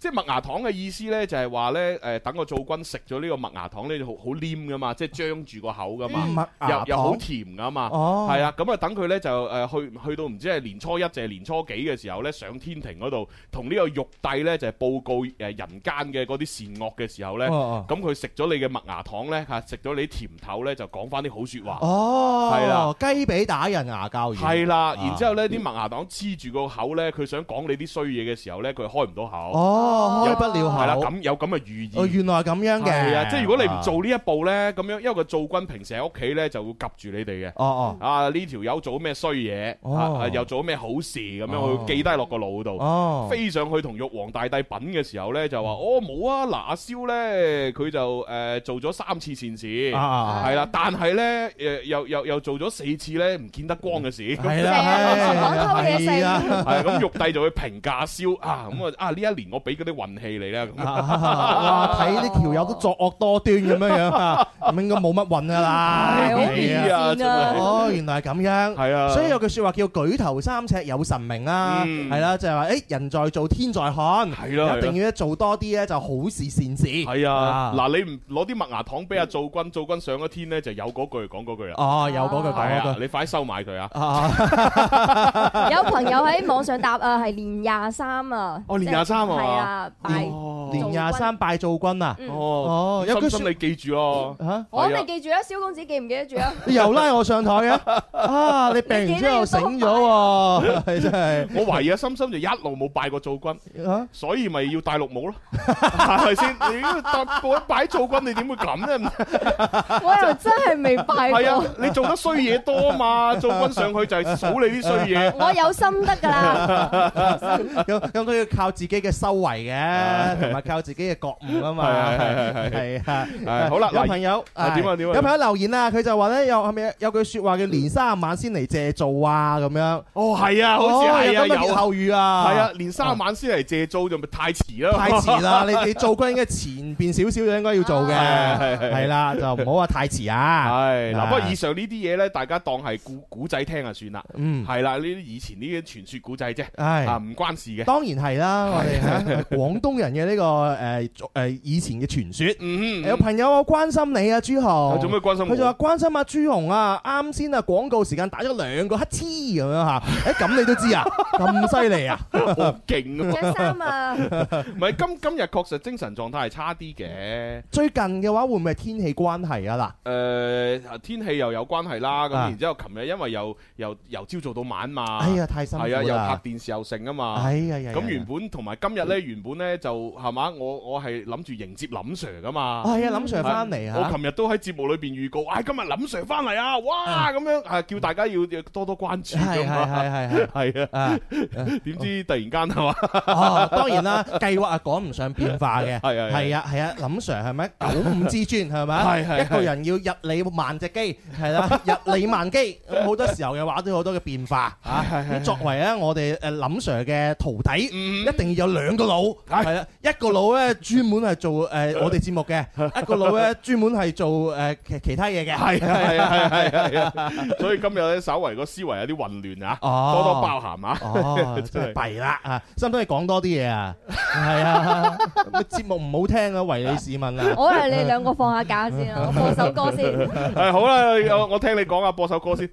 即係麥芽糖嘅意思咧，就係話咧誒，等個灶君食咗呢個麥芽糖咧，好好黏噶嘛，即係張住個口噶嘛，又又好甜噶嘛，係啊，咁啊等佢咧就誒去去到唔知係年初一定係年初幾嘅時候咧，上天庭嗰度同呢個玉帝咧就係報告誒人間嘅嗰啲善惡嘅時候咧，咁佢食咗你嘅麥芽糖咧嚇，食咗你啲甜頭咧就講翻啲好説話，係啦， 雞髀打人牙膠軟， 係啦，然之後咧啲麥芽糖黐住個口咧，佢想講你啲衰嘢嘅時候咧，佢開唔到口， 哦，開不了口， 係啦，咁有咁嘅寓意， 哦，原來係咁樣嘅， 係啊，即係如果你唔做呢一步咧，咁樣因為個灶君平時喺屋企咧就會及住你哋嘅， 哦哦， 啊呢條友做咩衰嘢，啊又做咩好事咁樣，佢會記低落個腦度， 哦， 飛上去同玉皇大帝品嘅時候咧就話，哦冇啊，嗱阿蕭咧佢就誒做咗三次善事，係啦，但係咧誒又又又做咗四次咧唔見得光嘅事， 係啦，係啊， 係咁玉帝就會評價阿蕭啊，咁啊啊呢一年我俾嗰啲運氣你啦， 哇睇呢條友都作惡多端咁樣樣啊，咁應該冇乜運噶啦， 係啊， 哦原來係咁樣， 係啊， 所以有句説話叫舉頭三尺有神明啦，係啦，就係話誒人在做天在看，係咯，一定要做多啲咧就好事善事， 係啊，嗱你唔攞啲麥芽糖俾阿灶君，灶君上咗天咧就有嗰句講嗰句啦， 哦有嗰句講嗰句， 你快收埋佢啊！ 有朋友喺網上答啊，係年廿三啊， 哦年廿三啊， 係啊，拜年廿三拜灶君啊， 哦，有句心你記住咯嚇，我你記住啊，蕭公子記唔記得住啊？ 又拉我上台嘅，啊你病完之後醒咗喎，係真係， 我懷疑阿心心就一路冇拜過灶君，所以咪要戴綠帽咯，係咪先？你拜拜灶君，你點會咁咧？ 我又真係未拜過。 係啊，你做得衰嘢多啊嘛，灶君上去就係數你啲衰嘢。 我有心得㗎啦， 咁咁都要靠自己嘅修為嘅，同埋靠自己嘅覺悟啊嘛。係係係係啊！ 好啦， 有朋友點啊點啊， 有朋友留言啊，佢就話咧有係咪有句説話叫年卅晚先嚟借灶啊咁樣。 哦係啊，好似係啊，有歇後語啊。 係啊，年卅晚先嚟借灶就咪太遲啦。 太遲啦！你你灶君應該前邊少少就應該要做嘅，係啦，就唔好話太遲啊。 係嗱，不過以上呢啲嘢咧，大家當係古古仔聽就算啦。嗯，係啦，呢啲以前呢啲傳說古仔啫，啊唔關事嘅。 當然係啦，我哋廣東人嘅呢個誒誒以前嘅傳說。嗯，有朋友我關心你啊，朱紅。 做咩關心我？ 佢就話關心阿朱紅啊，啱先啊廣告時間打咗兩個乞嗤咁樣嚇。誒咁你都知啊？咁犀利啊？ 好勁啊！ 着衫啊！ 唔係今今日確實精神狀態係差啲嘅。 最近嘅話會唔會係天氣關係啊？嗱， 誒天氣又有關係啦。咁然之後，琴日因為又又由朝做到晚嘛。 哎呀，太辛苦啦！ 係啊，又拍電視又成啊嘛。 哎呀呀！ 咁原本同埋今日咧，原本咧就係嘛，我我係諗住迎接林 Sir 噶嘛。 係啊，林 Sir 翻嚟啊！ 我琴日都喺節目裏邊預告，唉，今日林 Sir 翻嚟啊！哇，咁樣係叫大家要多多關注。 係係係係係啊！點知突然間係嘛？ 哦，當然啦，計劃啊趕唔上變化嘅。係啊係啊係啊，林 Sir 係咪九五之尊係咪？係係一個人要日理萬隻機係啦，日理萬機咁好多時候嘅話都有好多嘅變化啊！咁作為咧我哋誒林 Sir 嘅徒弟，一定要有兩個腦係啦，一個腦咧專門係做誒我哋節目嘅，一個腦咧專門係做誒其其他嘢嘅。 係係係係係啊！所以今日咧稍為個思維有啲混亂啊，多多包涵啊！ 哦，真係弊啦啊！使唔使你講多啲嘢啊？係啊，節目唔好聽啊，唯你是問啊！ 我係你兩個放下假先啊，我播首歌先。 係好啦，我我聽你講啊，播首歌先。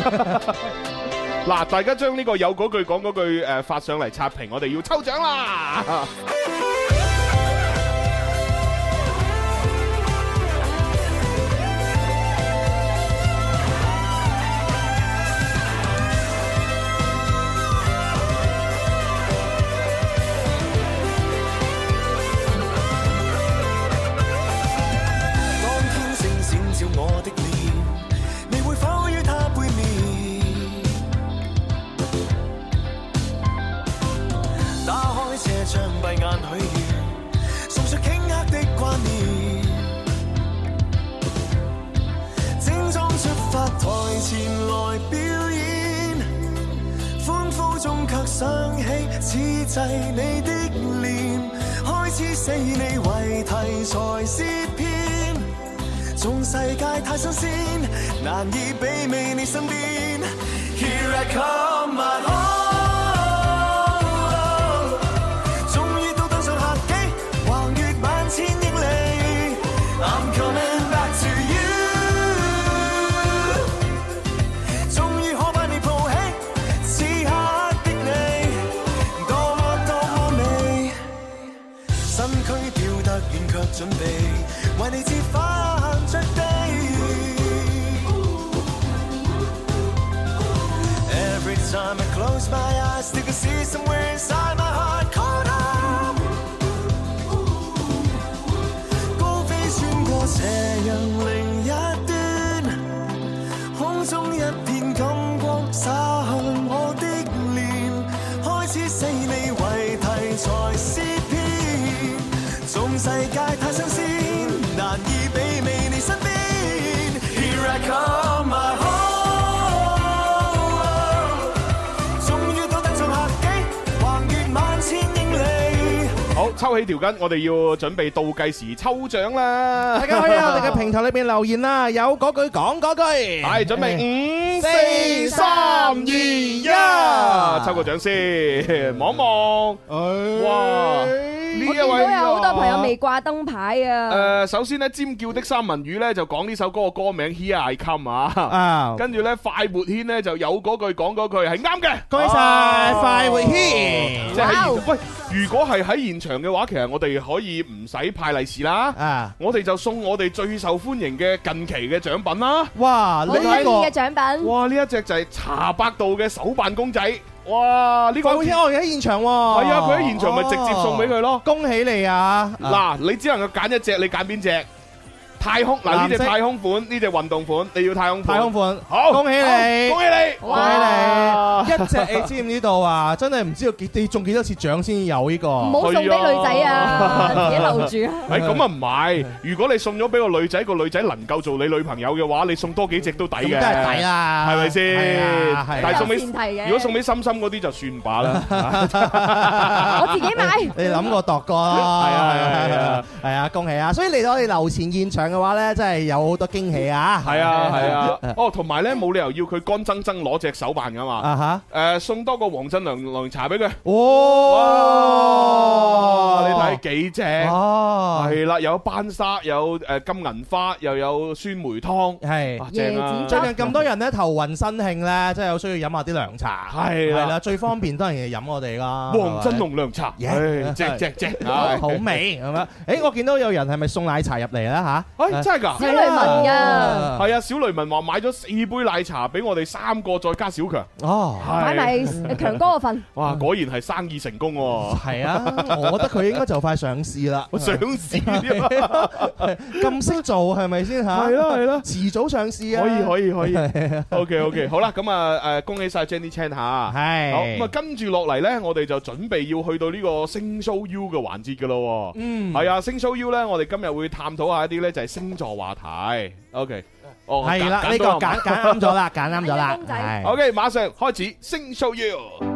嗱，大家將呢個有嗰句講嗰句誒發上嚟刷屏，我哋要抽獎啦！ 我的臉，你會否於他背面？打開車窗，閉眼許願，送出頃刻的掛念。整裝出發台前來表演，歡呼中卻想起此際你的臉，開始死你為題材詩篇。縱世界太新鮮，難以媲美你身邊。Here I come, my love，終於都登上客身軀吊得遠卻準備為你折返着地。Every time I close my eyes, still can see somewhere inside my heart caught up。高飛穿過斜陽另一端，空中一片感光灑向我的臉，開始死你為題材詩篇，縱世界太新鮮，難以媲美你身邊。Here I come my home。 好，抽起條筋，我哋要準備倒計時抽獎啦！ 大家可以喺我哋嘅平台裏邊留言啦，有嗰句講嗰句。 係準備五、四、三、二、一，抽個獎先，望望。哇！呢一位都有好多朋友未掛燈牌啊！ 誒，首先咧，尖叫的三文魚咧就講呢首歌嘅歌名 Here I Come 啊，跟住咧快活軒咧就有嗰句講嗰句係啱嘅， 恭喜晒快活軒！ 即係喂，如果係喺現場嘅話，其實我哋可以唔使派利是啦，啊，我哋就送我哋最受歡迎嘅近期嘅獎品啦！ 哇， 呢一個嘅獎品， 哇，呢一隻就係茶百道嘅手辦公仔。哇！呢個快活軒我哋喺現場喎， 係啊，佢喺現場咪直接送俾佢咯， 恭喜你啊！ 嗱，你只能夠揀一隻，你揀邊隻？太空嗱，呢隻太空款，呢隻運動款，你要太空款。 太空款， 好， 恭喜你， 恭喜你， 恭喜你！一隻你知唔知道啊？真係唔知道幾你中幾多次獎先有呢個？ 唔好送俾女仔啊，自己留住啊！ 誒咁啊唔係，如果你送咗俾個女仔，個女仔能夠做你女朋友嘅話，你送多幾隻都抵嘅。 咁都係抵啦， 係咪先？但係送俾如果送俾心心嗰啲就算罷啦。 我自己買。 你諗過度過咯？係啊係啊係啊係啊！恭喜啊！所以嚟到我哋樓前現場嘅話咧，真係有好多驚喜啊！ 係啊係啊！哦，同埋咧冇理由要佢乾爭爭攞隻手辦噶嘛！啊嚇！誒送多個黃振良涼茶俾佢。哇！你睇幾正？哦，係啦，有班沙，有誒金銀花，又有酸梅湯，係正啊！ 最近咁多人咧頭暈身興咧，真係有需要飲下啲涼茶。係係啦，最方便當然係飲我哋啦。 黃振龍涼茶，誒正正正， 好味咁樣。誒，我見到有人係咪送奶茶入嚟咧嚇？ 誒真係㗎！ 小雷文㗎， 係啊！小雷文話買咗四杯奶茶俾我哋三個，再加小強。哦， 買埋強哥個份。 哇！果然係生意成功喎。係啊，我覺得佢應該就快上市啦。 上市咁識做係咪先嚇？係咯係咯，遲早上市啊！ 可以可以可以。OK OK，好啦，咁啊誒，恭喜曬 Jenny Chan 嚇。係。好咁啊，跟住落嚟咧，我哋就準備要去到呢個星 show U 嘅環節㗎咯。嗯。係啊，星 show U 咧，我哋今日會探討下一啲咧就係星座話題。OK。哦， 係啦，呢個揀揀啱咗啦，揀啱咗啦。 OK，馬上開始星 show U。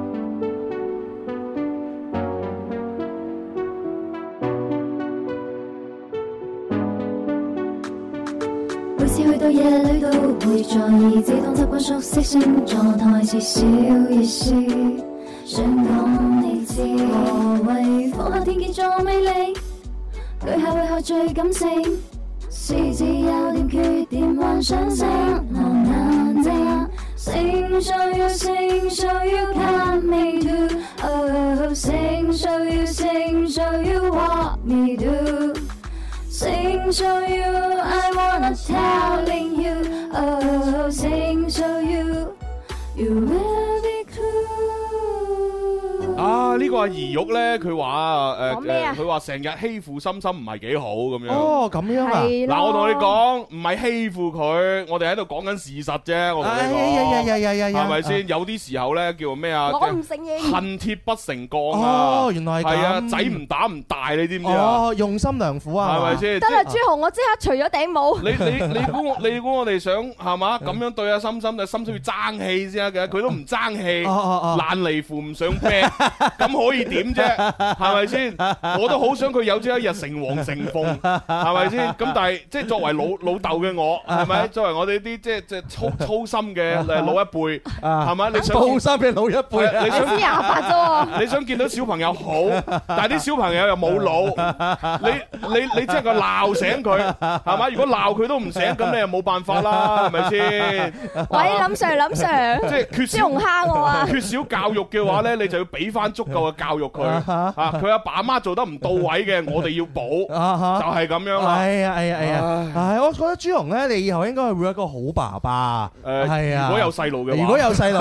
每次去到夜裏都會在意，自動習慣熟悉星座台詞，小意思想講你知，何謂放下天蠍座魅力，巨蟹為何最感性，獅子有點缺點幻想性，我難定，星 show you 星 show you come me do， oh 星 show you 星 show you what me do。Sing show you, I wanna telling you. Oh, sing show you, you will be cool. 啊，呢個阿兒玉咧，佢話誒誒，佢話成日欺負心心唔係幾好咁樣。 哦，咁樣啊！ 嗱，我同你講，唔係欺負佢，我哋喺度講緊事實啫。我同你講，係咪先？有啲時候咧，叫咩啊？ 我唔承認。 恨鐵不成鋼啊！ 哦，原來係咁。 係啊，仔唔打唔大，你知唔知啊？ 哦，用心良苦啊！ 係咪先？ 得啦，朱紅，我即刻除咗頂帽。 你你你估我你估我哋想係嘛？咁樣對阿心心，但係心心要爭氣先得嘅，佢都唔爭氣，爛泥扶唔上壁。咁可以點啫？係咪先？我都好想佢有朝一日成王成鳳，係咪先？咁但係即係作為老老豆嘅我，係咪？作為我哋啲即係即係粗粗心嘅誒老一輩，係咪？你想粗心嘅老一輩， 你想先廿八啫？ 你想見到小朋友好，但係啲小朋友又冇腦，你你你即係個鬧醒佢，係嘛？如果鬧佢都唔醒，咁你又冇辦法啦，係咪先？ 喂，林 Sir， 林 Sir， 即係缺少蝦我啊！ 缺少教育嘅話咧，你就要俾翻足夠嘅教育佢啊，佢阿爸阿媽做得唔到位嘅，我哋要補，就係咁樣啦。 係啊係啊係啊！係，我覺得朱紅咧，你以後應該係會一個好爸爸。誒，係啊， 如果有細路嘅話， 如果有細路，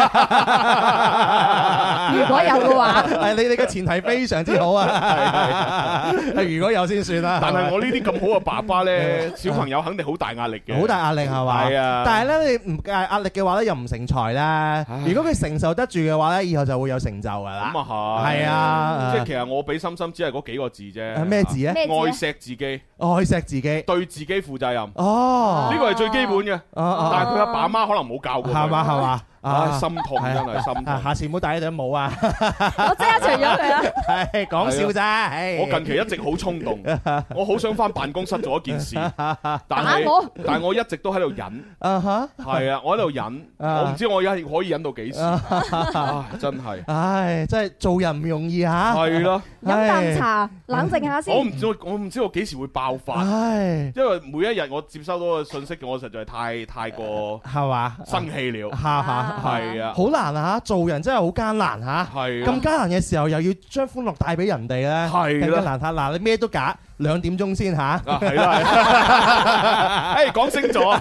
如果有嘅話， 係你哋嘅前提非常之好啊！係係，如果有先算啦。 但係我呢啲咁好嘅爸爸咧，小朋友肯定好大壓力嘅， 好大壓力係嘛？係啊。但係咧，你唔介壓力嘅話咧，又唔成才啦。如果佢承受得住嘅話咧，以後就會有成就㗎啦。 咁啊係。係啊， 即係其實我俾心心只係嗰幾個字啫。 咩字咧？ 愛錫自己， 愛錫自己， 對自己負責任。 哦， 呢個係最基本嘅。但係佢阿爸阿媽可能冇教過佢。 係嘛係嘛。 啊，心痛真係心痛。 下次唔好戴呢頂帽啊！ 我即刻除咗佢啊！ 係講笑咋？ 我近期一直好衝動，我好想翻辦公室做一件事，但係但係我一直都喺度忍。啊哈！係啊，我喺度忍，我唔知我而家可以忍到幾時。真係，唉， 真係做人唔容易嚇。 係咯， 飲啖茶，冷靜下先。 我唔知我唔知我幾時會爆發。唉，因為每一日我接收到嘅信息，我實在太太過係嘛生氣了。係啊， 好難啊！做人真係好艱難嚇，係咁艱難嘅時候，又要將歡樂帶俾人哋咧，係更加難睇。嗱，你咩都假，兩點鐘先嚇。 係啦，誒講星座，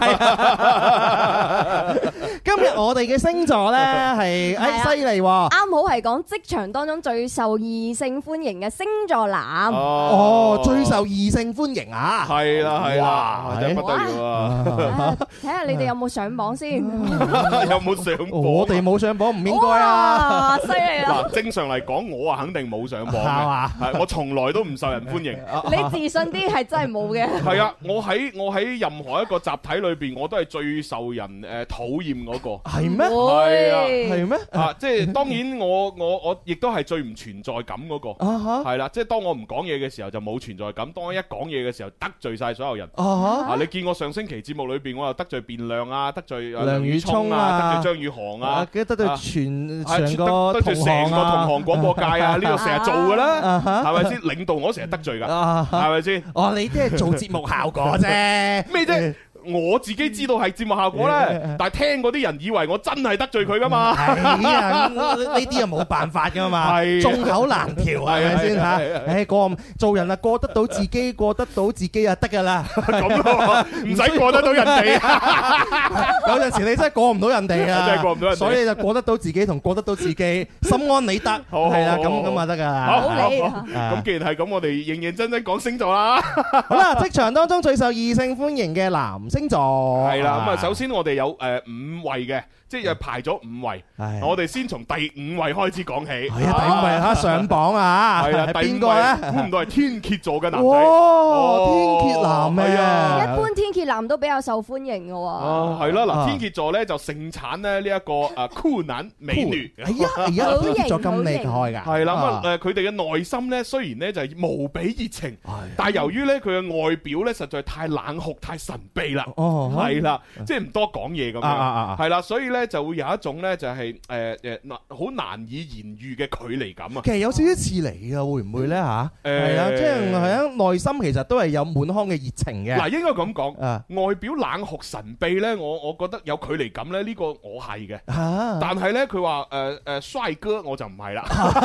今日我哋嘅星座咧係誒犀利喎， 啱好係講職場當中最受異性歡迎嘅星座男。 哦，最受異性歡迎啊！ 係啦係啦，真係不得了啊！ 睇下你哋有冇上榜先， 有冇上？ 我哋冇上榜，唔應該啊！ 犀利啦！ 嗱，正常嚟講，我啊肯定冇上榜嘅，係我從來都唔受人歡迎。 你自信啲係真係冇嘅。 係啊，我喺我喺任何一個集體裏邊，我都係最受人誒討厭嗰個。 係咩？ 係啊， 係咩？ 啊，即係當然我我我亦都係最唔存在感嗰個。係啦，即係當我唔講嘢嘅時候就冇存在感，當我一講嘢嘅時候得罪晒所有人。啊，你見我上星期節目裏邊，我又得罪變亮啊，得罪梁宇聰啊，得罪張宇航啊， 記得得罪全成個得罪成個同行廣播界啊，呢個成日做噶啦，係咪先？領導我成日得罪噶，係咪先？ 哦，你即係做節目效果啫， 咩啫？我自己知道係節目效果咧，但係聽嗰啲人以為我真係得罪佢噶嘛？ 係啊，呢啲又冇辦法噶嘛，眾口難調係咪先嚇？誒過做人啊，過得到自己，過得到自己啊得㗎啦。 咁咯，唔使過得到人哋啊。 有陣時你真係過唔到人哋啊， 真係過唔到人哋， 所以就過得到自己同過得到自己，心安理得係啦，咁咁啊得㗎啦。 好，咁既然係咁，我哋認認真真講星座啦。 好啦，職場當中最受異性歡迎嘅男星座係啦，咁啊，首先我哋有誒五位嘅，即係排咗五位。我哋先從第五位開始講起。 係啊，第五位嚇上榜啊！ 係啊， 係邊個咧？ 估唔到係天蠍座嘅男仔。 哇！天蠍男咩？ 一般天蠍男都比較受歡迎嘅喎。 啊，係啦，嗱，天蠍座咧就盛產咧呢一個誒酷男美女。 係啊，而家天蠍座咁厲害㗎。 係啦，咁啊誒佢哋嘅內心咧雖然咧就係無比熱情，但係由於咧佢嘅外表咧實在太冷酷、太神秘啦。哦，係啦，即係唔多講嘢咁樣，係啦，所以咧就會有一種咧就係誒誒難好難以言喻嘅距離感啊。 其實有少少似你嘅，會唔會咧嚇？係啊，即係係啊，內心其實都係有滿腔嘅熱情嘅。 嗱，應該咁講，外表冷酷神秘咧，我我覺得有距離感咧，呢個我係嘅。但係咧，佢話誒誒帥哥我就唔係啦。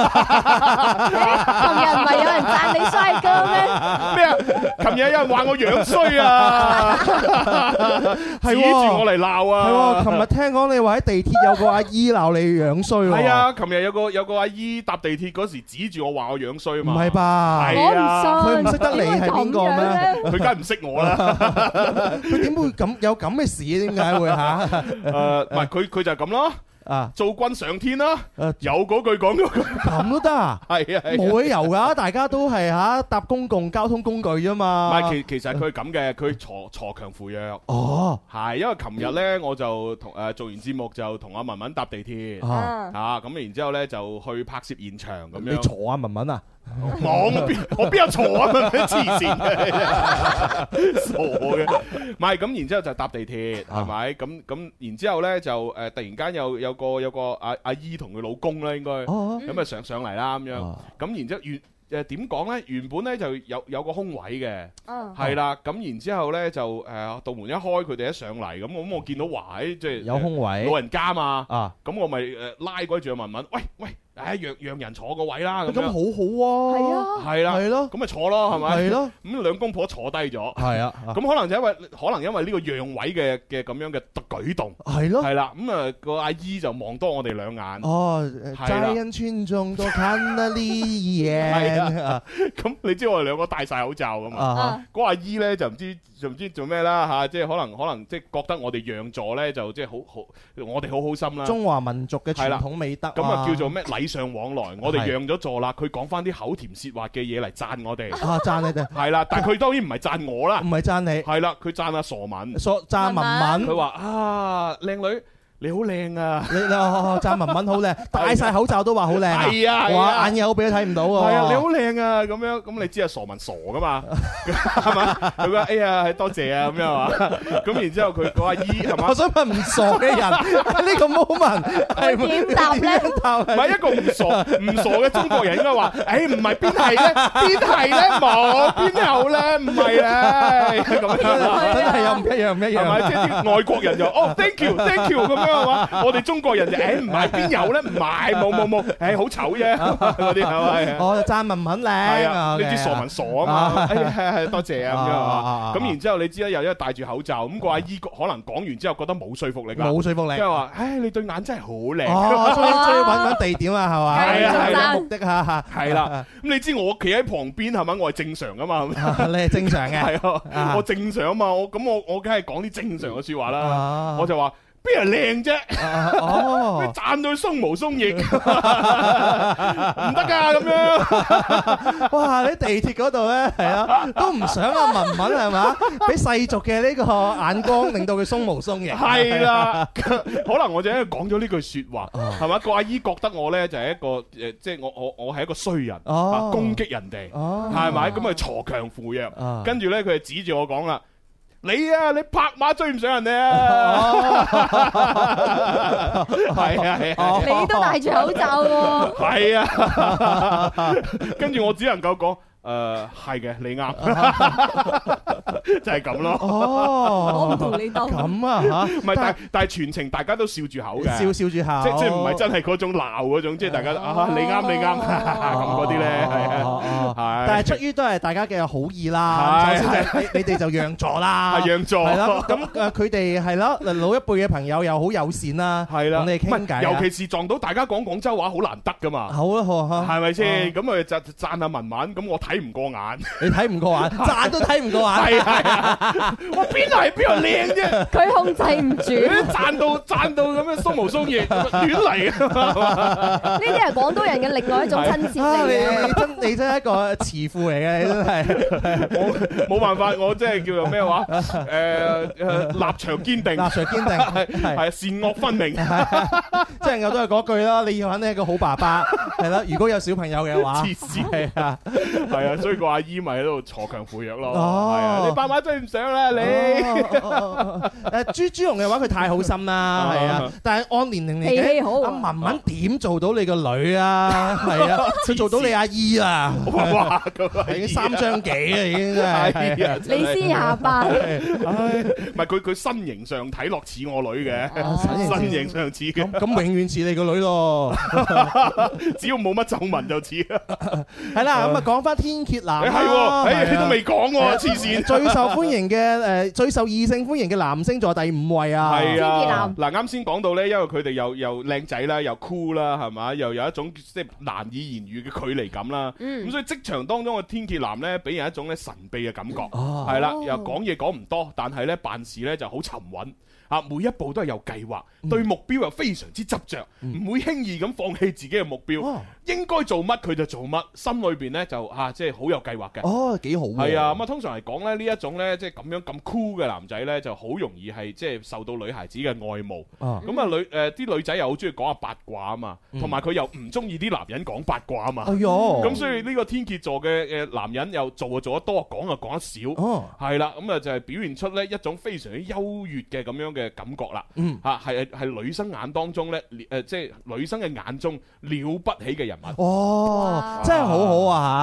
琴日唔係有人讚你帥哥咩？ 咩啊？琴日有人話我樣衰啊！指住我嚟鬧啊！ 係喎，琴日聽講你話喺地鐵有個阿姨鬧你樣衰喎。 係啊，琴日有個有個阿姨搭地鐵嗰時指住我話我樣衰啊嘛。 唔係吧？ 係啊， 佢唔識得你係邊個咩？ 佢梗係唔識我啦。 佢點會咁有咁嘅事？點解會嚇？誒， 唔係佢佢就係咁咯。啊！做君上天啦，有嗰句講嗰句， 咁都得啊？係啊，冇理由噶，大家都係吓搭公共交通工具啫嘛。 唔係，其其實佢係咁嘅，佢鋤鋤強扶弱。 哦， 係，因為琴日咧，我就同誒做完節目就同阿文文搭地鐵，啊，咁然之後咧就去拍攝現場咁樣。 你鋤阿文文啊？ 我邊我邊有鋤啊？黐線嘅，傻嘅。唔係咁，然之後就搭地鐵，係咪？咁咁，然之後咧就誒突然間有有個有個阿阿姨同佢老公咧，應該咁啊上上嚟啦咁樣。咁然之後原誒點講咧？原本咧就有有個空位嘅，係啦。咁然之後咧就誒道門一開，佢哋一上嚟咁，咁我見到哇，即係有空位， 老人家嘛。 啊， 咁我咪誒拉嗰住阿文文，喂喂。 誒讓讓人坐個位啦，咁咁好好啊， 係啊， 係啦， 係咯， 咁咪坐咯，係咪？ 係咯， 咁兩公婆坐低咗， 係啊， 咁可能就因為可能因為呢個讓位嘅嘅咁樣嘅舉動， 係咯， 係啦，咁啊個阿姨就望多我哋兩眼， 哦，在人群中多看了你一眼， 係啊，咁你知我哋兩個戴晒口罩噶嘛，嗰阿姨咧就唔知就唔知做咩啦嚇，即係可能可能即係覺得我哋讓座咧就即係好好，我哋好好心啦， 中華民族嘅傳統美德， 咁啊叫做咩禮尚往來，我哋讓咗座啦，佢講翻啲口甜舌滑嘅嘢嚟讚我哋， 啊讚你哋， 係啦，但係佢當然唔係讚我啦， 唔係讚你， 係啦，佢讚阿傻文， 傻讚文文， 佢話啊靚女。你好靚啊！ 你你讚文文好靚，戴晒口罩都話好靚。 係啊， 哇眼有俾都睇唔到喎。 係啊，你好靚啊！咁樣咁你知啊，傻文傻噶嘛，係嘛？佢話哎呀，多謝啊咁樣啊。咁然之後佢個阿姨係嘛？ 我想問唔傻嘅人呢個 moment 係點答咧？ 唔係一個唔傻唔傻嘅中國人應該話，誒唔係邊係咧？邊係咧？冇邊有咧？唔係咧？咁樣真係又唔一樣唔一樣。 係咪？即係啲外國人就哦 thank you thank you 咁樣。我哋中國人就誒唔係邊有咧？唔係冇冇冇，誒好醜啫嗰啲係咪？ 我讚文文靚， 係啊，你知傻文傻啊嘛？係係係，多謝啊咁樣啊。咁然之後你知啦，又因為戴住口罩，咁個阿姨可能講完之後覺得冇說服力㗎， 冇說服力， 即係話誒你對眼真係好靚。 哦，終於終於揾揾地點啊，係嘛？ 係啊係啊， 目的嚇係啦。咁你知我企喺旁邊係咪？我係正常㗎嘛？ 你係正常嘅， 係啊，我正常啊嘛。我咁我我梗係講啲正常嘅説話啦。我就話。邊係靚啫？哦，讚到鬆毛鬆翼，唔得噶咁樣。 哇！你地鐵嗰度咧，係啊，都唔想阿文文係嘛？俾世俗嘅呢個眼光，令到佢鬆毛鬆翼。 係啦，可能我就因為講咗呢句説話，係嘛？個阿姨覺得我咧就係一個誒，即係我我我係一個衰人，攻擊人哋，係咪？咁啊鋤強扶弱，跟住咧佢就指住我講啦。你啊，你拍馬追唔上人哋啊！係啊係啊， 你都戴住口罩喎。 係啊，跟住我只能夠講。誒係嘅，你啱，就係咁咯。 哦， 我唔同你鬥。 咁啊嚇， 唔係，但但係全程大家都笑住口嘅， 笑笑住口， 即即唔係真係嗰種鬧嗰種，即係大家啊你啱你啱咁嗰啲咧，係啊， 但係出於都係大家嘅好意啦。首先就你你哋就讓座啦， 係讓座， 係啦。咁誒佢哋係咯，老一輩嘅朋友又好友善啦， 係啦， 同你哋傾偈。 尤其是撞到大家講廣州話好難得噶嘛。 好啊好啊， 係咪先？咁啊就讚下文文，咁我睇。睇唔過眼， 你睇唔過眼，讚都睇唔過眼， 係係，我邊度係邊度靚啫？ 佢控制唔住， 讚到讚到咁樣鬆毛鬆翼，亂嚟啊！ 呢啲係廣東人嘅另外一種親切嚟嘅。 你真你真係一個慈父嚟嘅，你真係。 我冇辦法，我即係叫做咩話？誒誒，立場堅定，立場堅定， 係係善惡分明。 即係我都係嗰句啦，你要肯定係一個好爸爸，係啦。如果有小朋友嘅話， 黐線係啊， 係啊，所以個阿姨咪喺度鋤強扶弱咯。係啊，你爸爸追唔上啦，你。 誒朱朱紅嘅話，佢太好心啦，係啊。但係按年齡嚟計，阿文文點做到你個女啊？係啊，佢做到你阿姨啊！ 哇， 已經三張幾啊，已經真係。 你先下班。 唔係佢佢身形上睇落似我女嘅，身形上似嘅。 咁永遠似你個女咯。 只要冇乜皺紋就似。 係啦，咁啊講翻天蠍男係喎，你都未講喎，黐線！ 最受歡迎嘅誒，最受異性歡迎嘅男星座第五位啊！ 係啊，嗱啱先講到咧，因為佢哋又又靚仔啦，又 cool 啦，係嘛，又有一種即係難以言喻嘅距離感啦。咁所以職場當中嘅天蠍男咧，俾人一種咧神秘嘅感覺，係啦，又講嘢講唔多，但係咧辦事咧就好沉穩。啊！每一步都係有計劃，對目標又非常之執着，唔會輕易咁放棄自己嘅目標。應該做乜佢就做乜，心裏邊咧就啊，即係好有計劃嘅。 哦，幾好。 係啊，咁啊，通常嚟講咧，呢一種咧，即係咁樣咁 cool 嘅男仔咧，就好容易係即係受到女孩子嘅愛慕。咁啊，女誒啲女仔又好中意講下八卦啊嘛，同埋佢又唔中意啲男人講八卦啊嘛。 哎喲！ 咁所以呢個天蠍座嘅嘅男人又做就做得多，講就講得少。哦，係啦，咁啊就係表現出咧一種非常之優越嘅咁樣嘅感覺啦。嗯，嚇係係女生眼當中咧，誒即係女生嘅眼中了不起嘅人物。 哦，真係好好啊嚇！天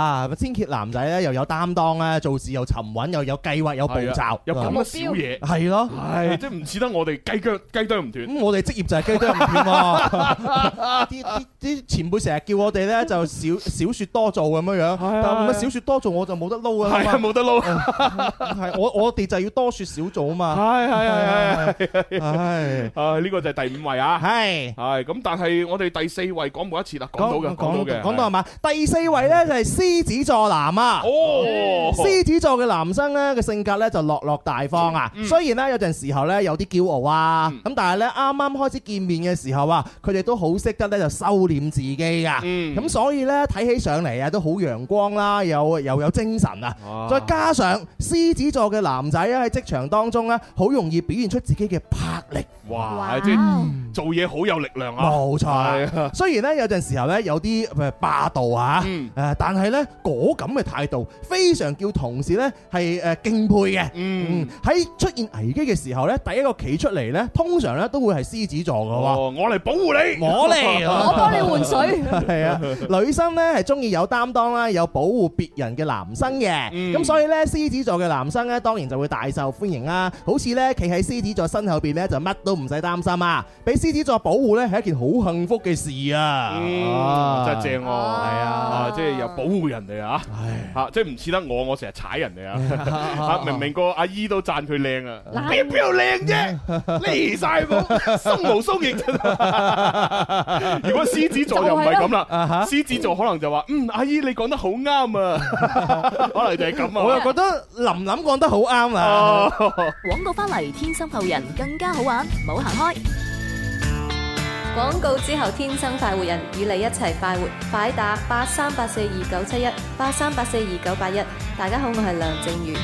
天蠍男仔咧又有擔當咧，做事又沉穩，又有計劃，有步驟， 有咁嘅小嘢， 係咯， 係即係唔似得我哋雞腳雞啄唔斷。 咁我哋職業就係雞啄唔斷喎。啲啲啲前輩成日叫我哋咧就少少説多做咁樣樣，但係少説多做我就冇得撈啊， 係啊冇得撈。 係我我哋就要多説少做啊嘛。 係係係係係啊！呢個就係第五位啊。 係係咁，但係我哋第四位講冇一次啦，講到嘅，講到嘅， 講到係嘛？第四位咧就係獅子座男啊。 哦， 獅子座嘅男生咧嘅性格咧就落落大方啊。雖然咧有陣時候咧有啲驕傲啊，咁但係咧啱啱開始見面嘅時候啊，佢哋都好識得咧就收斂自己啊。咁所以咧睇起上嚟啊都好陽光啦，又又有精神啊。再加上獅子座嘅男仔咧喺職場當中咧，好容易表現出自己嘅魄力。 哇！即係做嘢好有力量啊！ 冇錯。雖然咧有陣時候咧有啲誒霸道啊，誒，但係咧果咁嘅態度非常叫同事咧係誒敬佩嘅。嗯，喺出現危機嘅時候咧，第一個企出嚟咧，通常咧都會係獅子座嘅喎。 哦，我嚟保護你， 我嚟， 我幫你換水。 係啊，女生咧係中意有擔當啦，有保護別人嘅男生嘅。咁所以咧，獅子座嘅男生咧，當然就會大受歡迎啦。好似咧企喺獅子座身後邊咧，就乜都唔使擔心啊！俾獅子座保護咧，係一件好幸福嘅事啊！ 嗯，真係正喎，係啊，即係又保護人哋啊！嚇，即係唔似得我，我成日踩人哋啊！嚇，明明個阿姨都讚佢靚啊，邊邊度靚啫？離曬譜，鬆毛鬆翼。如果獅子座又唔係咁啦，獅子座可能就話：嗯，阿姨你講得好啱啊！可能就係咁啊！ 我又覺得琳琳講得好啱啊！ 廣告翻嚟，天生浮人更加好玩，唔好行開。 廣告之後，天生快活人與你一齊快活，快打八三八四二九七一八三八四二九八一。大家好，我係梁靜茹。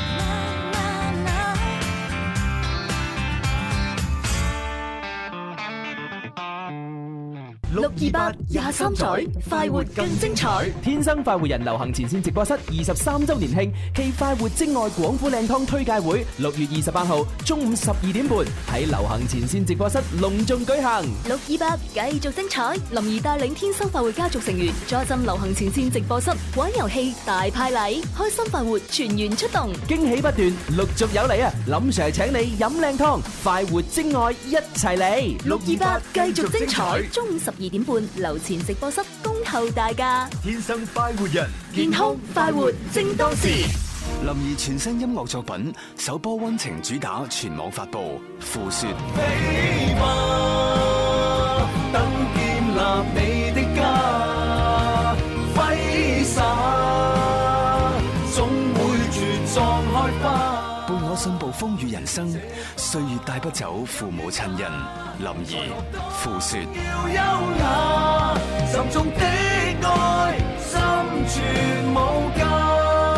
六二八廿三載，快活更精彩。 天生快活人流行前線直播室二十三周年慶暨快活精愛廣府靚湯推介會，六月二十八號中午十二點半喺流行前線直播室隆重舉行。 六二八繼續精彩，林兒帶領天生快活家族成員坐鎮流行前線直播室玩遊戲大派禮，開心快活全員出動， 驚喜不斷，陸續有嚟啊！林 Sir 請你飲靚湯，快活精愛一齊嚟。 六二八繼續精彩，中午十二點半樓前直播室恭候大家。 天生快活人， 健康快活正當時。 林兒全新音樂作品首波溫情主打全網發佈，《付說》。 飛吧，等建立你的家，揮灑，總會茁壯開花。 伴我信步風雨人生，歲月帶不走父母親人。林兒《付說》。 要優雅，沉重的愛，心存無價。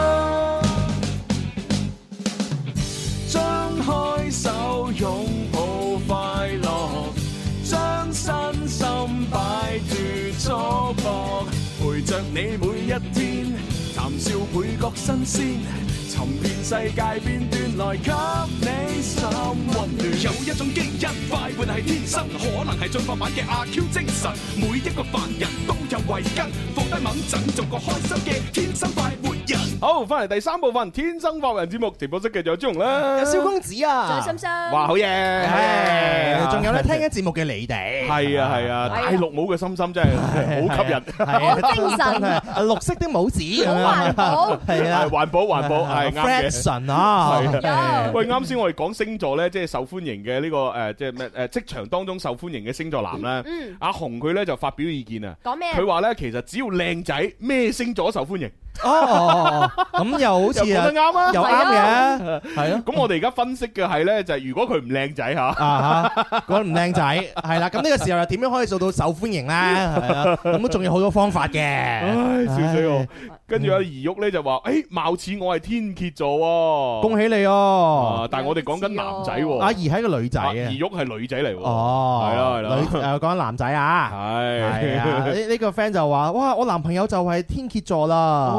張開手擁抱快樂，將身心擺脫束縛，陪着你每一天，談笑倍覺新鮮。尋遍世界片段來給你心溫暖。有一種基因快活係天生，可能係進化版嘅阿 Q 精神。每一個凡人都有慧根，放低猛陣，做個開心嘅天生快活人。 好，翻嚟第三部分《天生快活人》節目，直播室繼續有朱紅啦， 有蕭公子啊， 仲有心心， 哇，好嘢！ 仲有咧聽緊節目嘅你哋， 係啊係啊，大綠帽嘅心心真係好吸引， 好精神， 綠色的帽子， 好環保， 係啊， 環保環保係。 Fashion 啊， 喂，啱先我哋講星座咧，即係受歡迎嘅呢個誒，即係咩誒？職場當中受歡迎嘅星座男咧，阿紅佢咧就發表意見啊。 講咩？ 佢話咧，其實只要靚仔，咩星座受歡迎。 哦，咁又好似又講得啱啊， 又啱嘅，係咯。 咁我哋而家分析嘅係咧，就係如果佢唔靚仔吓， 啊吓，講唔靚仔，係啦。咁呢個時候又點樣可以做到受歡迎咧？係啦，咁都仲有好多方法嘅。 唉，笑死我！跟住阿怡玉咧就話：，誒，貌似我係天蠍座喎， 恭喜你哦！ 但係我哋講緊男仔喎， 阿怡係個女仔啊， 怡玉係女仔嚟喎。 哦， 係啦係啦， 女誒講緊男仔啊， 係係啊。呢呢個 friend 就話：，哇，我男朋友就係天蠍座啦。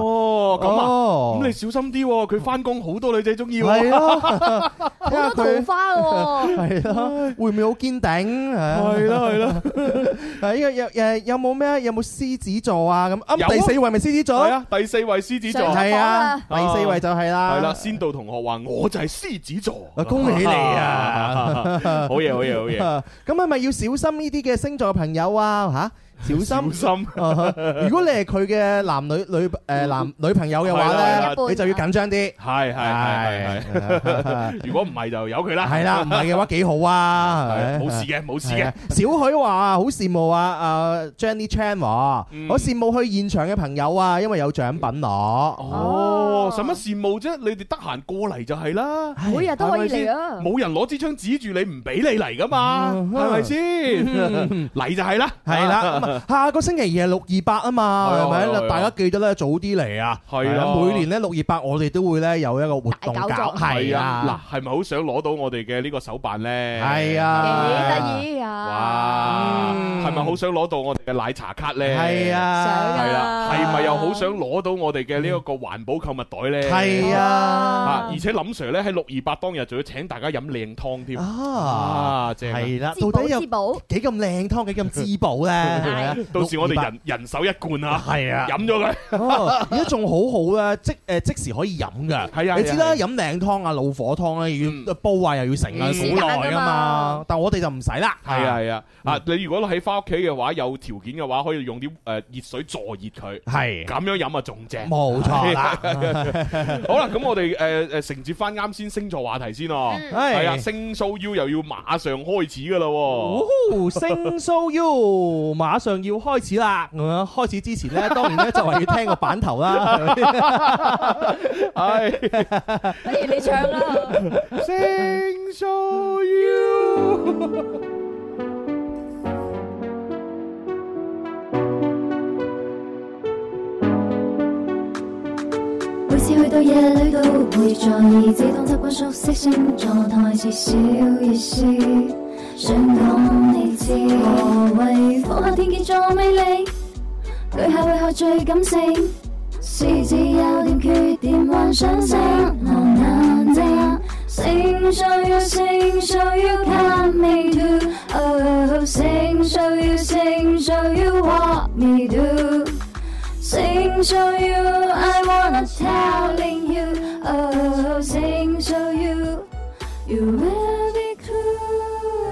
哦，咁啊，咁你小心啲喎，佢翻工好多女仔中意喎。 係啊， 好多桃花喎。 係咯，會唔會好堅定？ 係咯係咯。 係有有誒有冇咩？有冇獅子座啊？咁啱第四位咪獅子座？ 係啊，第四位獅子座。 係啊，第四位就係啦。 係啦，仙道同學話我就係獅子座。 恭喜你啊！ 好嘢好嘢好嘢。 咁係咪要小心呢啲嘅星座朋友啊？嚇？小心， 小心。 如果你係佢嘅男女女誒男女朋友嘅話咧，你就要緊張啲。 係係係係。如果唔係就由佢啦。 係啦，唔係嘅話幾好啊。 冇事嘅，冇事嘅。 小許話好羨慕啊，啊 Jenny Chan 話好羨慕去現場嘅朋友啊，因為有獎品攞。 哦，使乜羨慕啫？你哋得閒過嚟就係啦， 每日都可以嚟啊。 冇人攞支槍指住你唔俾你嚟噶嘛，係咪先？嚟就係啦， 係啦。下個星期二係六二八啊嘛，係咪？大家記得咧早啲嚟啊！ 係啦， 每年咧六二八我哋都會咧有一個活動搞，係啊！ 嗱，係咪好想攞到我哋嘅呢個手辦咧？ 係啊， 幾得意啊！ 哇，係咪好想攞到我哋嘅奶茶卡咧？ 係啊， 係啊，係咪又好想攞到我哋嘅呢一個環保購物袋咧？ 係啊， 而且林 Sir 咧喺六二八當日仲要請大家飲靚湯添啊！ 正係啦，到底有幾咁靚湯，幾咁滋補咧？ 到時我哋人人手一罐啊， 係啊， 飲咗佢。 而家仲好好咧，即誒即時可以飲噶。係啊，你知啦，飲靚湯啊、老火湯咧，要煲啊，又要成啊，好耐噶嘛。但我哋就唔使啦。 係啊係啊，啊你如果喺翻屋企嘅話，有條件嘅話，可以用啲誒熱水助熱佢。係咁樣飲啊，仲正。冇錯啦。好啦，咁我哋誒誒承接翻啱先星座話題先咯。係啊，星 show U 又要馬上開始噶啦。 哦，星 show U 馬上要開始啦！咁開始之前咧，當然咧就係要聽個版頭啦。 係， 不如你唱啦。 星 show U。 每次去到夜裏都會在意，自動習慣熟悉星座，台詞小意思。想講你知，何謂放下天蠍座魅力？巨蟹為何最感性？獅子有點缺點，幻想性浪眼睛。星 show you， 星 show you come me to，oh， 星 show you， 星 show you what me do。星 show you，I wanna telling you，oh， 星 show you，you will be cool。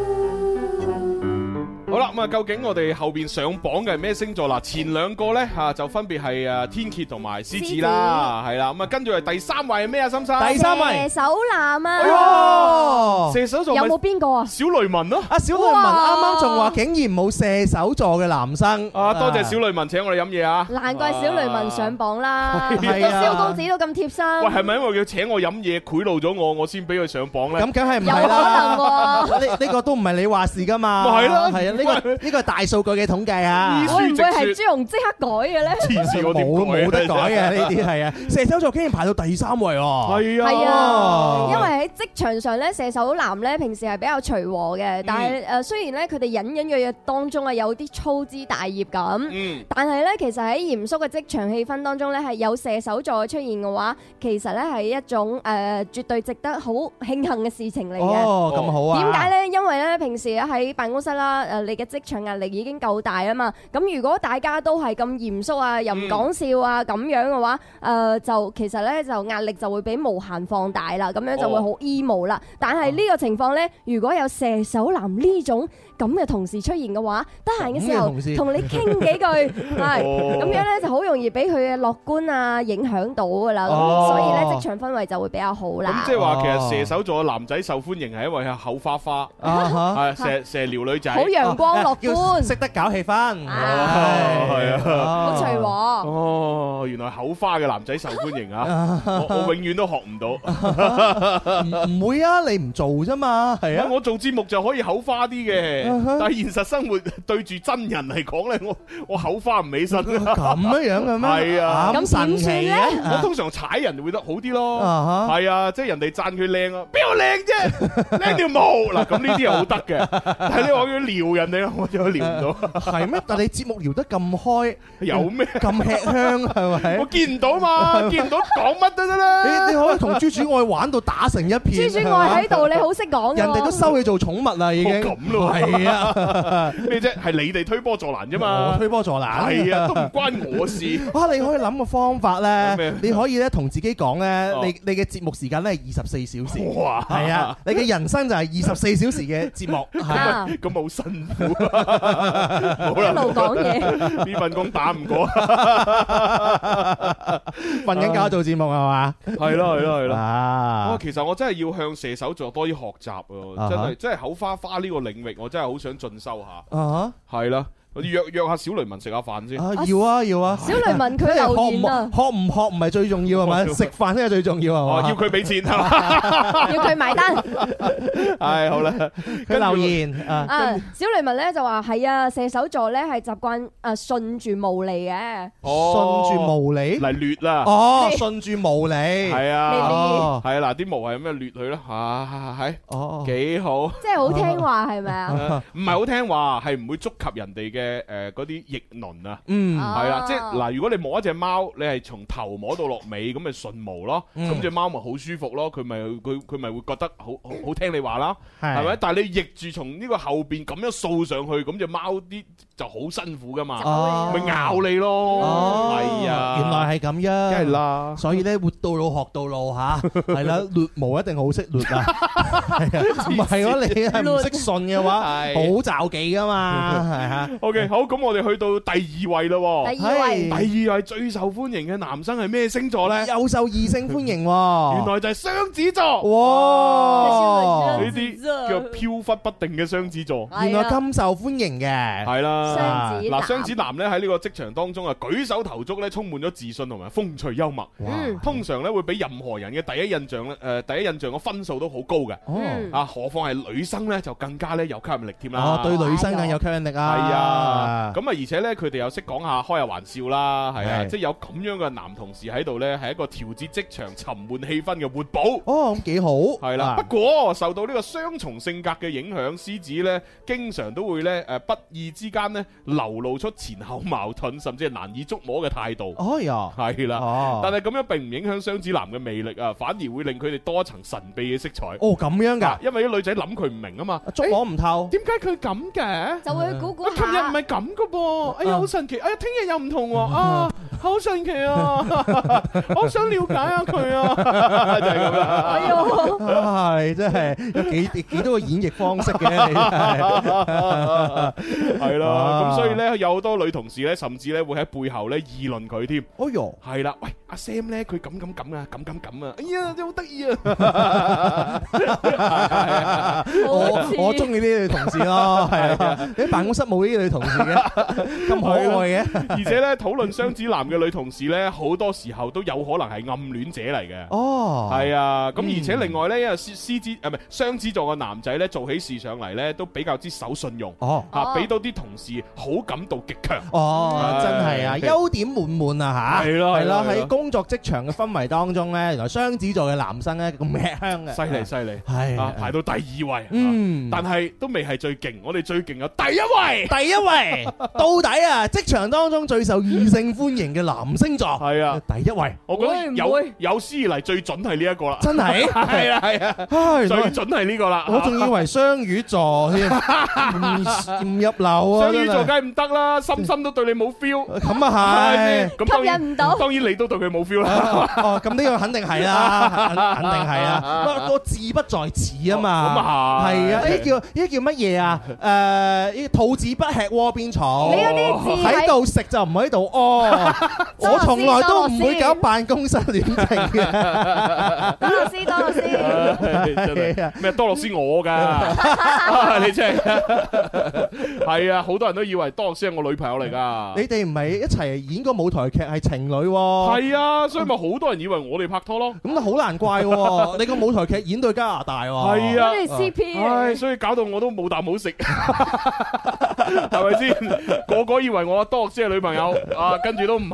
好啦，咁啊，究竟我哋後邊上榜嘅係咩星座啦？前兩個咧吓就分別係誒天蠍同埋獅子啦，係啦，咁啊跟住係第三位係咩啊？心生， 第三位射手男啊！ 哦， 射手座有冇邊個啊？ 小雷文咯， 阿小雷文啱啱仲話竟然冇射手座嘅男生啊！多謝小雷文請我哋飲嘢啊！ 難怪小雷文上榜啦， 係啊， 蕭公子都咁貼心。 喂，係咪因為佢請我飲嘢賄賂咗我，我先俾佢上榜咧？ 咁梗係唔係啦？ 有可能喎， 呢呢個都唔係你話事噶嘛？ 咪係咯， 係啊，呢個呢個係大數據嘅統計啊！ 會唔會係朱紅即刻改嘅咧？ 黐線，我冇冇得改嘅呢啲係啊！射手座竟然排到第三位喎！ 係啊， 係啊，因為喺職場上咧，射手男咧平時係比較隨和嘅，但係誒雖然咧佢哋隱隱約約當中啊有啲粗枝大葉咁，嗯，但係咧其實喺嚴肅嘅職場氣氛當中咧係有射手座出現嘅話，其實咧係一種誒絕對值得好慶幸嘅事情嚟嘅。 哦，咁好啊！ 點解咧？因為咧平時喺辦公室啦，誒你嘅職場壓力已經夠大啊嘛。咁如果大家都係咁嚴肅啊，又唔講笑啊咁樣嘅話，誒就其實咧就壓力就會俾無限放大啦。咁樣就會好 emo 啦。但係呢個情況咧，如果有射手男呢種咁嘅同事出現嘅話，得閒嘅時候同你傾幾句，係咁樣咧就好容易俾佢嘅樂觀啊影響到噶啦。咁所以咧職場氛圍就會比較好啦。 咁即係話其實射手座嘅男仔受歡迎係因為係口花花，係成成撩女仔， 好陽光樂觀， 識得搞氣氛， 係啊， 好隨和。 哦，原來口花嘅男仔受歡迎啊！我我永遠都學唔到， 唔會啊！你唔做啫嘛，係啊！ 我做節目就可以口花啲嘅。但係現實生活對住真人嚟講咧，我我口花唔起身。咁樣樣嘅咩？ 係啊， 咁神奇嘅。 我通常踩人會得好啲咯。係啊，即係人哋讚佢靚啊，邊有靚啫？靚條毛嗱，咁呢啲係好得嘅。但係你話要撩人哋， 我就聊唔到。 係咩？但你節目聊得咁開， 有咩咁吃香係咪？ 我見唔到嘛，見唔到講乜都得啦。 你你可以同朱主愛玩到打成一片。 朱主愛喺度，你好識講。 人哋都收你做寵物啦，已經。 咁咯。 係啊。 咩啫？係你哋推波助瀾啫嘛。 我推波助瀾。 係啊，都唔關我事。 啊，你可以諗個方法咧，你可以咧同自己講咧，你你嘅節目時間咧係二十四小時。 哇！ 係啊，你嘅人生就係二十四小時嘅節目。 咁咁好辛苦啊！好啦， 一路講嘢， 呢份工打唔過， 瞓緊覺做節目係嘛？ 係咯係咯係咯。 啊！ 其實我真係要向射手座多啲學習啊！真係真係口花花呢個領域，我真係好想進修下。 啊！ 係啦。我約約下小雷文食下飯先。 啊，要啊要啊！ 小雷文佢留言啊， 學唔學唔係最重要係咪？食飯先係最重要係嘛？ 要佢俾錢係嘛？ 要佢買單。 係好啦， 佢留言啊。 小雷文咧就話係啊，射手座咧係習慣誒順住毛嚟嘅。 順住毛嚟嚟掠啦。 哦，順住毛嚟。係啊。係啊，嗱啲毛係咁樣掠佢啦。嚇係。哦。幾好。 即係好聽話係咪啊？ 唔係好聽話，係唔會觸及人哋嘅。嘅誒嗰啲翼輪啊， 嗯， 係啦，即係嗱，如果你摸一隻貓，你係從頭摸到落尾，咁咪順毛咯，咁隻貓咪好舒服咯，佢咪佢佢咪會覺得好好好聽你話啦，係咪？但係你逆住從呢個後邊咁樣掃上去，咁隻貓啲就好辛苦噶嘛，咪咬你咯，係啊， 原來係咁樣， 梗係啦， 所以咧活到老學到老嚇，係啦，掠毛一定好識掠啊，唔係咯，你係唔識順嘅話，好罩忌噶嘛，係嚇。 OK，好，咁我哋去到第二位咯。 第二位， 第二位最受歡迎嘅男生係咩星座咧？ 又受異性歡迎喎。 原來就係雙子座。 哇！ 呢啲叫飄忽不定嘅雙子座。 原來咁受歡迎嘅。 係啦。 雙子男。 嗱，雙子男咧喺呢個職場當中啊，舉手投足咧充滿咗自信同埋風趣幽默。通常咧會比任何人嘅第一印象咧，誒第一印象嘅分數都好高嘅。啊，何況係女生咧就更加咧有吸引力添啦。 哦，對女生更有吸引力啊。 係啊，咁啊，而且咧，佢哋又識講下開下玩笑啦，係啊，即係有咁樣嘅男同事喺度咧，係一個調節職場沉悶氣氛嘅活寶。 哦，咁幾好。 係啦，不過受到呢個雙重性格嘅影響，獅子咧經常都會咧誒不意之間咧流露出前後矛盾，甚至係難以捉摸嘅態度。 哦呀， 係啦，但係咁樣並唔影響雙子男嘅魅力啊，反而會令佢哋多一層神秘嘅色彩。 哦，咁樣㗎， 因為啲女仔諗佢唔明啊嘛， 捉摸唔透。 點解佢咁嘅？ 就會估估下。 琴日唔係咁噶噃，哎呀好神奇！哎呀聽日又唔同喎，啊好神奇啊！我想了解下佢啊，就係咁啦。 哎呦， 係真係有幾幾多個演繹方式嘅， 係啦。咁所以咧有好多女同事咧，甚至咧會喺背後咧議論佢添。 哎呦， 係啦，喂阿 Sam 咧佢咁咁咁啊，咁咁咁啊，哎呀真係好得意啊！ 我我中意呢啲女同事咯，係啊，你辦公室冇呢啲女同事嘅，咁可愛嘅。 而且咧討論雙子男嘅女同事咧，好多時候都有可能係暗戀者嚟嘅。 哦， 係啊，咁而且另外咧，因為獅獅子誒唔係雙子座嘅男仔咧，做起事上嚟咧都比較之守信用。 哦， 嚇俾到啲同事好感度極強。 哦，真係啊，優點滿滿啊嚇。係咯，係咯，喺工作職場嘅氛圍當中咧，原來雙子座嘅男生咧咁吃香嘅。 犀利犀利， 係啊，排到第二位。 嗯， 但係都未係最勁，我哋最勁有第一位。 第一位，到底啊，職場當中最受異性歡迎嘅男星座係啊， 第一位。 我覺得有有史以嚟最準係呢一個啦。 真係係啊係啊，最準係呢個啦。 我仲以為雙魚座添，唔入流啊！ 雙魚座梗係唔得啦，深深都對你冇 feel。 咁啊係， 吸引唔到。 當然你都對佢冇 feel 啦。 哦，咁呢個肯定係啦，肯肯定係啦。個個字不在此啊嘛。咁啊係。係啊，呢叫呢叫乜嘢啊？誒，呢兔子不吃窩邊草。 你嗰啲字喺度食就唔喺度屙。我從來都唔會搞辦公室戀情嘅。 多樂斯，多樂斯。 真係咩？多樂斯我㗎，你真係係啊！好多人都以為多樂斯係我女朋友嚟㗎。 你哋唔係一齊演個舞台劇係情侶喎？ 係啊，所以咪好多人以為我哋拍拖咯。 咁都好難怪喎！你個舞台劇演到加拿大喎。 係啊。 C P， 唉，所以搞到我都冇啖好食，係咪先？個個以為我多樂斯係女朋友，啊，跟住都唔係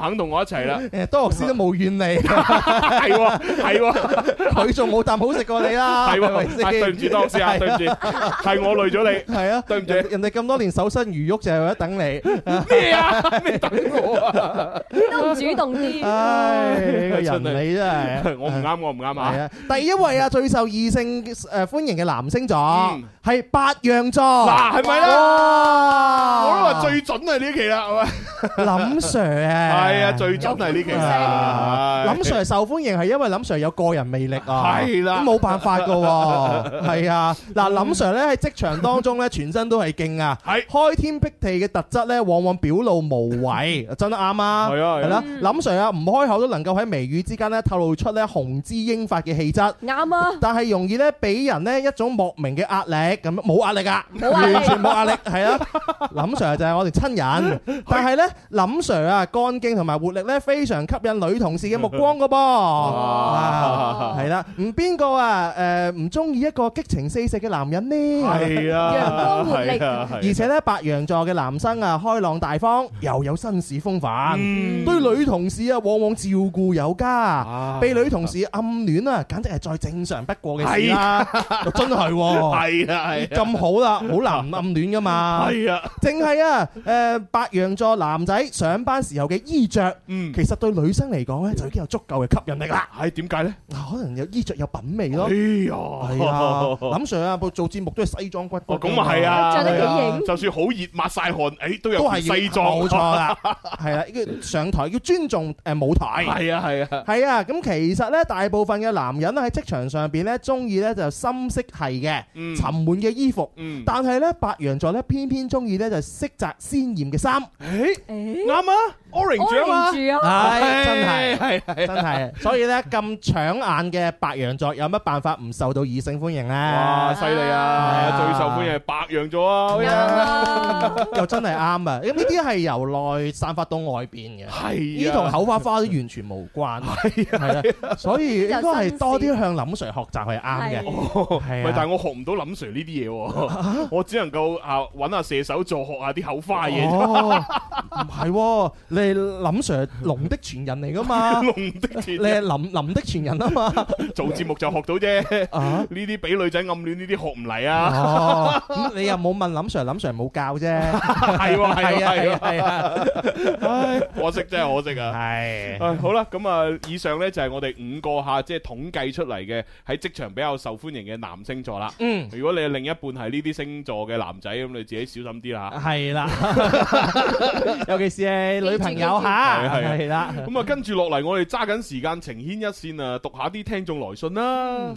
肯同我一齊啦。 誒，多學師都冇怨你， 係喎係喎， 佢仲冇啖好食過你啦， 係係咪喎， 先？ 對唔住多學師啊，對唔住，係我累咗你， 係啊， 對唔住。 人哋咁多年守身如玉就係為咗等你咩啊？咩等我啊？ 都唔主動啲。 唉，呢個人你真係， 我唔啱，我唔啱啊！ 係啊，第一位啊，最受異性誒歡迎嘅男星座係白羊座， 嗱係咪咧？ 哇！ 我都話最準係呢期啦，係咪？ 林 Sir 啊， 係啊，最準係呢期啦。 林 Sir 受歡迎係因為林 Sir 有個人魅力啊， 係啦， 冇辦法噶喎，係啊。嗱，林 Sir 咧喺職場當中咧，全身都係勁啊， 係開天闢地嘅特質咧，往往表露無遺，真係啱啊。 係啊， 係啦，林 Sir 啊，唔開口都能夠喺微語之間咧透露出咧雄姿英發嘅氣質， 啱啊。 但係容易咧俾人咧一種莫名嘅壓力，咁冇壓力噶， 冇壓力完全冇壓力，係啊。林 Sir 就係我哋親人，但係咧林 Sir 啊，幹勁同埋活力咧非常吸引女同事嘅目光噶噃，係啦，唔邊個啊誒唔中意一個激情四射嘅男人呢？ 係啊， 陽光活力， 而且咧白羊座嘅男生啊開朗大方，又有紳士風範，對女同事啊往往照顧有加，被女同事暗戀啊，簡直係再正常不過嘅事啦，真係係啊係咁好啦，好難唔暗戀噶嘛， 係啊， 淨係啊誒白羊座男仔上班時候嘅衣着， 嗯， 其實對女生嚟講咧就已經有足夠嘅吸引力啦。 係點解咧？ 可能有衣着有品味咯。 哎呀， 係啊，林 Sir 啊，做節目都係西裝骨骨。 哦，咁啊係啊， 着得幾型。 就算好熱抹晒汗，誒都有都係西裝， 冇錯啦。係啦，呢個上台要尊重誒舞台。 係啊係啊。 係啊，咁其實咧，大部分嘅男人喺職場上邊咧，中意咧就深色系嘅沉悶嘅衣服。 嗯。 但係咧，白羊座咧偏偏中意咧就色澤鮮豔嘅衫。 誒啱啊 ，orange 啊嘛。 係真係係係真係。所以咧咁搶眼嘅白羊座有乜辦法唔受到異性歡迎咧？ 哇！犀利啊！最受歡迎係白羊座啊！ 又真係啱啊！咁呢啲係由內散發到外邊嘅， 係呢同口花花都完全無關。係啊，所以應該係多啲向林 Sir 學習係啱嘅。係唔係，但係我學唔到林 Sir 呢啲嘢喎，我只能夠啊揾下射手座學下啲口花嘢。 唔係，你係林 Sir 龍的傳人嚟噶嘛？ 龍的傳人， 你係林林的傳人啊嘛？ 做節目就學到啫。呢啲俾女仔暗戀呢啲學唔嚟啊。 哦，咁你又冇問林 Sir，林 Sir 冇教啫。 係喎，係啊，係啊， 係啊。 唉，可惜真係可惜啊。 係。 唉，好啦，咁啊，以上咧就係我哋五個嚇，即係統計出嚟嘅喺職場比較受歡迎嘅男星座啦。嗯。如果你嘅另一半係呢啲星座嘅男仔，咁你自己小心啲啦。 係啦。尤其是係女朋友嚇。係係啦。 咁啊，跟住落嚟，我哋揸緊時間情牽一線啊，讀下啲聽眾來信啦。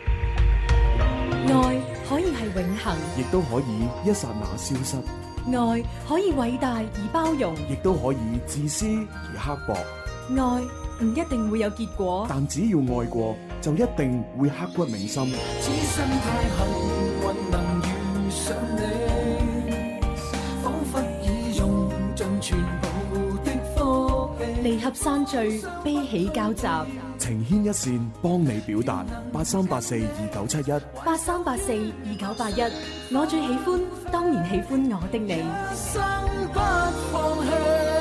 愛可以係永恆， 亦都可以一剎那消失； 愛可以偉大而包容， 亦都可以自私而刻薄。 愛唔一定會有結果， 但只要愛過，就一定會刻骨銘心。 此生太幸運能遇上你，彷彿已用盡全部的福氣。 離合散聚，悲喜交集。 情牽一線，幫你表達。八三八四二九七一， 八三八四二九八一。我最喜歡，當然喜歡我的你。 生不放棄。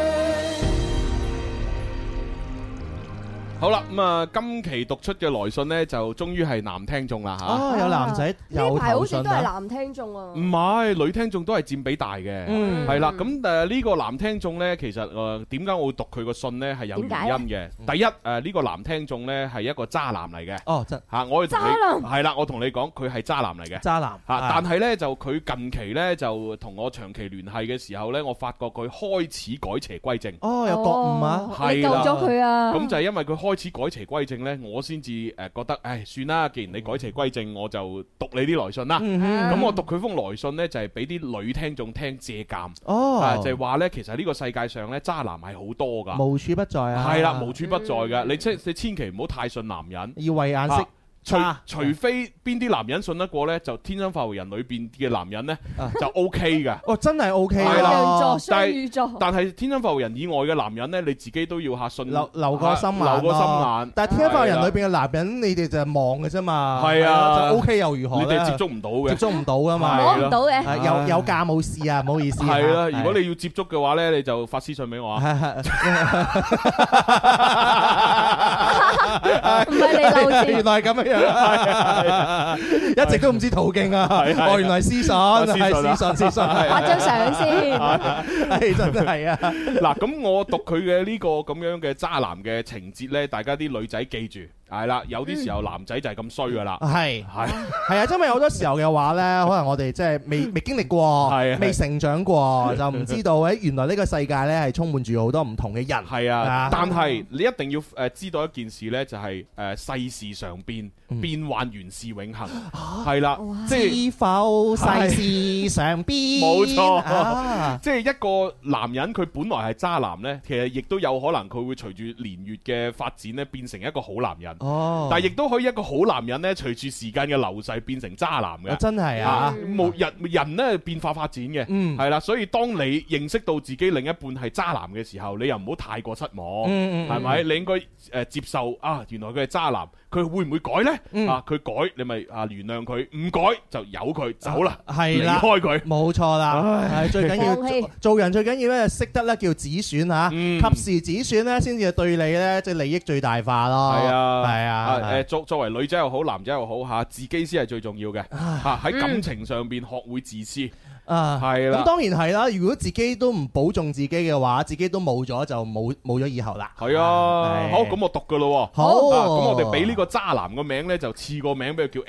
好啦，咁啊，今期讀出嘅來信呢，就終於係男聽眾啦嚇。 啊，有男仔有呢排好似投信啊！ 都係男聽眾啊。 唔係，女聽眾都係佔比大嘅。 嗯， 係啦。咁誒呢個男聽眾呢，其實誒點解我會讀佢個信呢？係有原因嘅。第一誒呢個男聽眾呢，係一個渣男嚟嘅。 哦，真嚇，我同你渣男係啦，我同你講佢係渣男嚟嘅。 渣男嚇，但係呢，就佢近期呢，就同我長期聯繫嘅時候呢，我發覺佢開始改邪歸正。 哦，有覺悟啊！ 你救咗佢啊！ 咁就係因為佢開始改邪歸正呢，我先至誒覺得，唉，算啦，既然你改邪歸正，我就讀你啲來信啦。咁我讀佢封來信呢，就係俾啲女聽眾聽借鑑。哦，就係話呢，其實呢個世界上呢，渣男係好多㗎， 無處不在啊。 係啦，無處不在㗎。你即你千祈唔好太信男人， 要慧眼識。 除除非邊啲男人信得過咧，就天生快活人裏邊嘅男人咧就 O K 㗎。 哦，真係 O K 啦。 但係但係天生快活人以外嘅男人咧，你自己都要下信留留個心眼， 留個心眼。 但係天生快活人裏邊嘅男人，你哋就係望嘅啫嘛。 係啊， 就 O K 又如何咧？ 你哋接觸唔到嘅， 接觸唔到噶嘛， 摸唔到嘅。 有有價冇事啊，唔好意思。 係啦，如果你要接觸嘅話咧，你就發私信俾我啊。 唔係你漏字， 原來係咁樣，一直都唔知途徑啊！哦，原來私信係私信，私信發張相先， 係真係啊！ 嗱，咁我讀佢嘅呢個咁樣嘅渣男嘅情節咧，大家啲女仔記住。係啦，有啲時候男仔就係咁衰噶啦。係係係啊，因為好多時候嘅話咧，可能我哋即係未未經歷過，未成長過，就唔知道誒原來呢個世界咧係充滿住好多唔同嘅人。 係啊，但係你一定要誒知道一件事咧，就係誒世事常變，變幻原是永恆。係啦，即係知否世事常變？ 冇錯，即係一個男人佢本來係渣男咧，其實亦都有可能佢會隨住年月嘅發展咧，變成一個好男人。哦，但係亦都可以一個好男人咧，隨住時間嘅流逝變成渣男嘅。真係啊，冇人人咧變化發展嘅，嗯，係啦，所以當你認識到自己另一半係渣男嘅時候，你又唔好太過失望，嗯，係咪？你應該誒接受啊，原來佢係渣男，佢會唔會改咧？啊，佢改你咪啊原諒佢，唔改就由佢走啦，係啦，離開佢，冇錯啦。係最緊要做人最緊要咧，識得咧叫止損嚇，及時止損咧，先至對你咧即係利益最大化咯。係啊。係啊，誒作作為女仔又好，男仔又好嚇，自己先係最重要嘅嚇。喺感情上邊學會自私啊，係啦。咁當然係啦，如果自己都唔保重自己嘅話，自己都冇咗就冇冇咗以後啦。係啊，好，咁我讀噶咯。好，咁我哋俾呢個渣男個名咧，就賜個名俾佢叫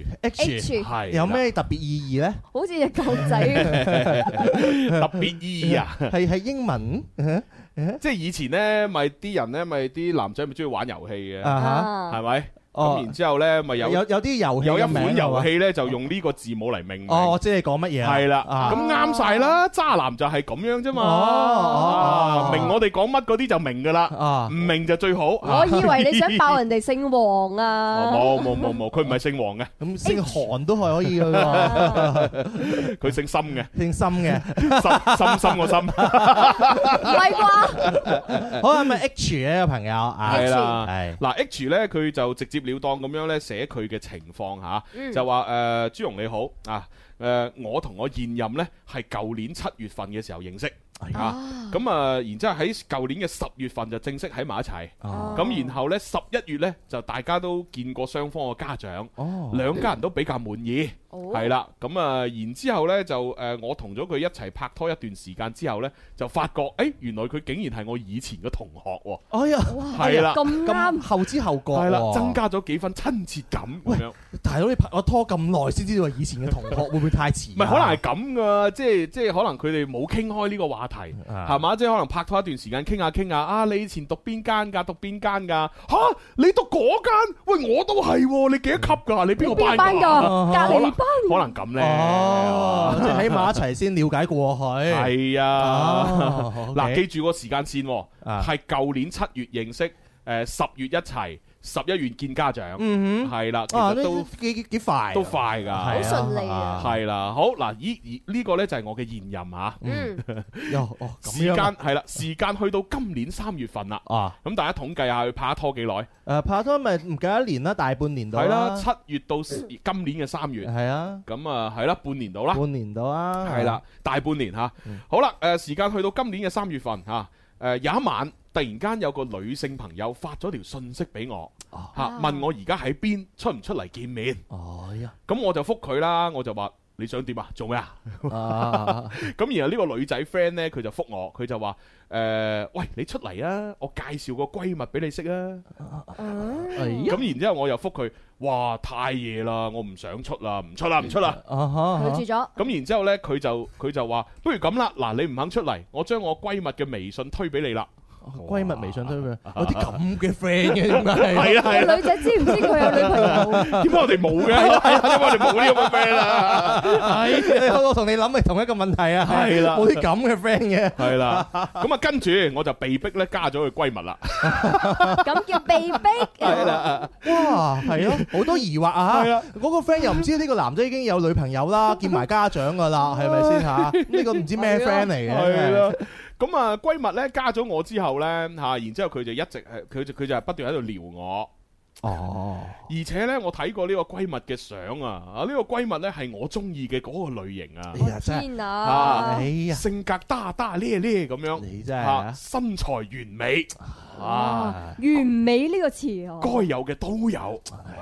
H。H 係有咩特別意義咧？好似隻狗仔特別意義啊？係係英文。即係以前咧，咪啲人咧，咪啲男仔咪中意玩遊戲嘅，係咪？咁然之後咧，咪有有有啲遊戲有一款遊戲咧，就用呢個字母嚟命名。哦，我知你講乜嘢啦。係啦，咁啱晒啦，渣男就係咁樣啫嘛。哦，明我哋講乜嗰啲就明噶啦，唔明就最好。 我以為你想爆人哋姓黃啊。 冇冇冇冇，佢唔係姓黃嘅， 咁姓韓都係可以噶。 佢姓森嘅， 姓森嘅， 深深個深。 唔係啩？ 好，係咪 H 呢個朋友？ 係啦，係嗱 H 咧，佢就直接了當咁樣咧寫佢嘅情況吓，嗯、就話誒、呃、朱蓉你好啊，誒、呃、我同我現任咧係舊年七月份嘅時候認識。啊，咁啊，然之後喺舊年嘅十月份就正式喺埋一齊，咁然後呢，十一月呢，就大家都見過雙方嘅家長，兩家人都比較滿意，係啦，咁啊，然之後呢就誒我同咗佢一齊拍拖一段時間之後呢，就發覺誒原來佢竟然係我以前嘅同學喎，哎呀，係啦，咁啱後知後覺，係啦，增加咗幾分親切感咁樣。大佬你拍咗拖咁耐先知道以前嘅同學，會唔會太遲？唔係，可能係咁噶，即係即係可能佢哋冇傾開呢個話題。係嘛，即係可能拍拖一段時間，傾下傾下啊！你以前讀邊間噶？讀邊間噶？吓，你讀嗰間？喂，我都係，你幾多級噶？你邊個班噶？隔離班？可能咁咧，哦，即係喺埋一齊先了解過去。係啊，嗱，記住個時間線，係舊年七月認識，誒，十月一齊。十一月見家長，嗯哼，係啦，其實都幾幾快，都快噶，好順利啊，係啦，好嗱，依呢個咧就係我嘅現任嚇，嗯，哦，時間係啦，時間去到今年三月份啦，啊，咁大家統計下佢拍拖幾耐？誒，拍拖咪唔夠一年啦，大半年到啦，係啦，七月到今年嘅三月，係啊，咁啊係啦，半年到啦，半年到啊，係啦，大半年嚇，好啦，誒時間去到今年嘅三月份嚇，誒有一晚。突然間有個女性朋友發咗條信息俾我，嚇問我而家喺邊，出唔出嚟見面？哦呀！咁我就覆佢啦，我就話你想點啊？做咩啊？咁然後呢個女仔 friend 呢，佢就覆我，佢就話誒，喂，你出嚟啊！我介紹個閨蜜俾你識啊！咁然之後我又覆佢，哇，太夜啦，我唔想出啦，唔出啦，唔出啦！拒絕咗。咁然之後呢，佢就佢就話，不如咁啦，嗱，你唔肯出嚟，我將我閨蜜嘅微信推俾你啦。 閨蜜微信推佢，有啲咁嘅 friend 嘅點解？ 係啊係啊！女仔知唔知佢有女朋友？ 點解我哋冇嘅？係啊，點解我哋冇呢個 friend 啊？ 係，我同你諗係同一個問題啊！ 係啦， 冇啲咁嘅 friend 嘅。係啦，咁啊跟住我就被逼咧加咗佢閨蜜啦。 咁叫被逼？ 係啦， 哇，係咯，好多疑惑啊！係啊，嗰個 friend 又唔知呢個男仔已經有女朋友啦，見埋家長噶啦，係咪先嚇？呢個唔知咩 friend 嚟嘅。係啦。 咁啊，閨蜜咧加咗我之後咧嚇，然之後佢就一直係佢就佢就係不斷喺度撩我。 哦， 而且咧，我睇過呢個閨蜜嘅相啊，啊呢個閨蜜咧係我中意嘅嗰個類型啊。 哎呀，真係啊， 哎呀， 性格大大咧咧咁樣， 你真係身材完美。 啊！完美呢個詞啊， 該有嘅都有。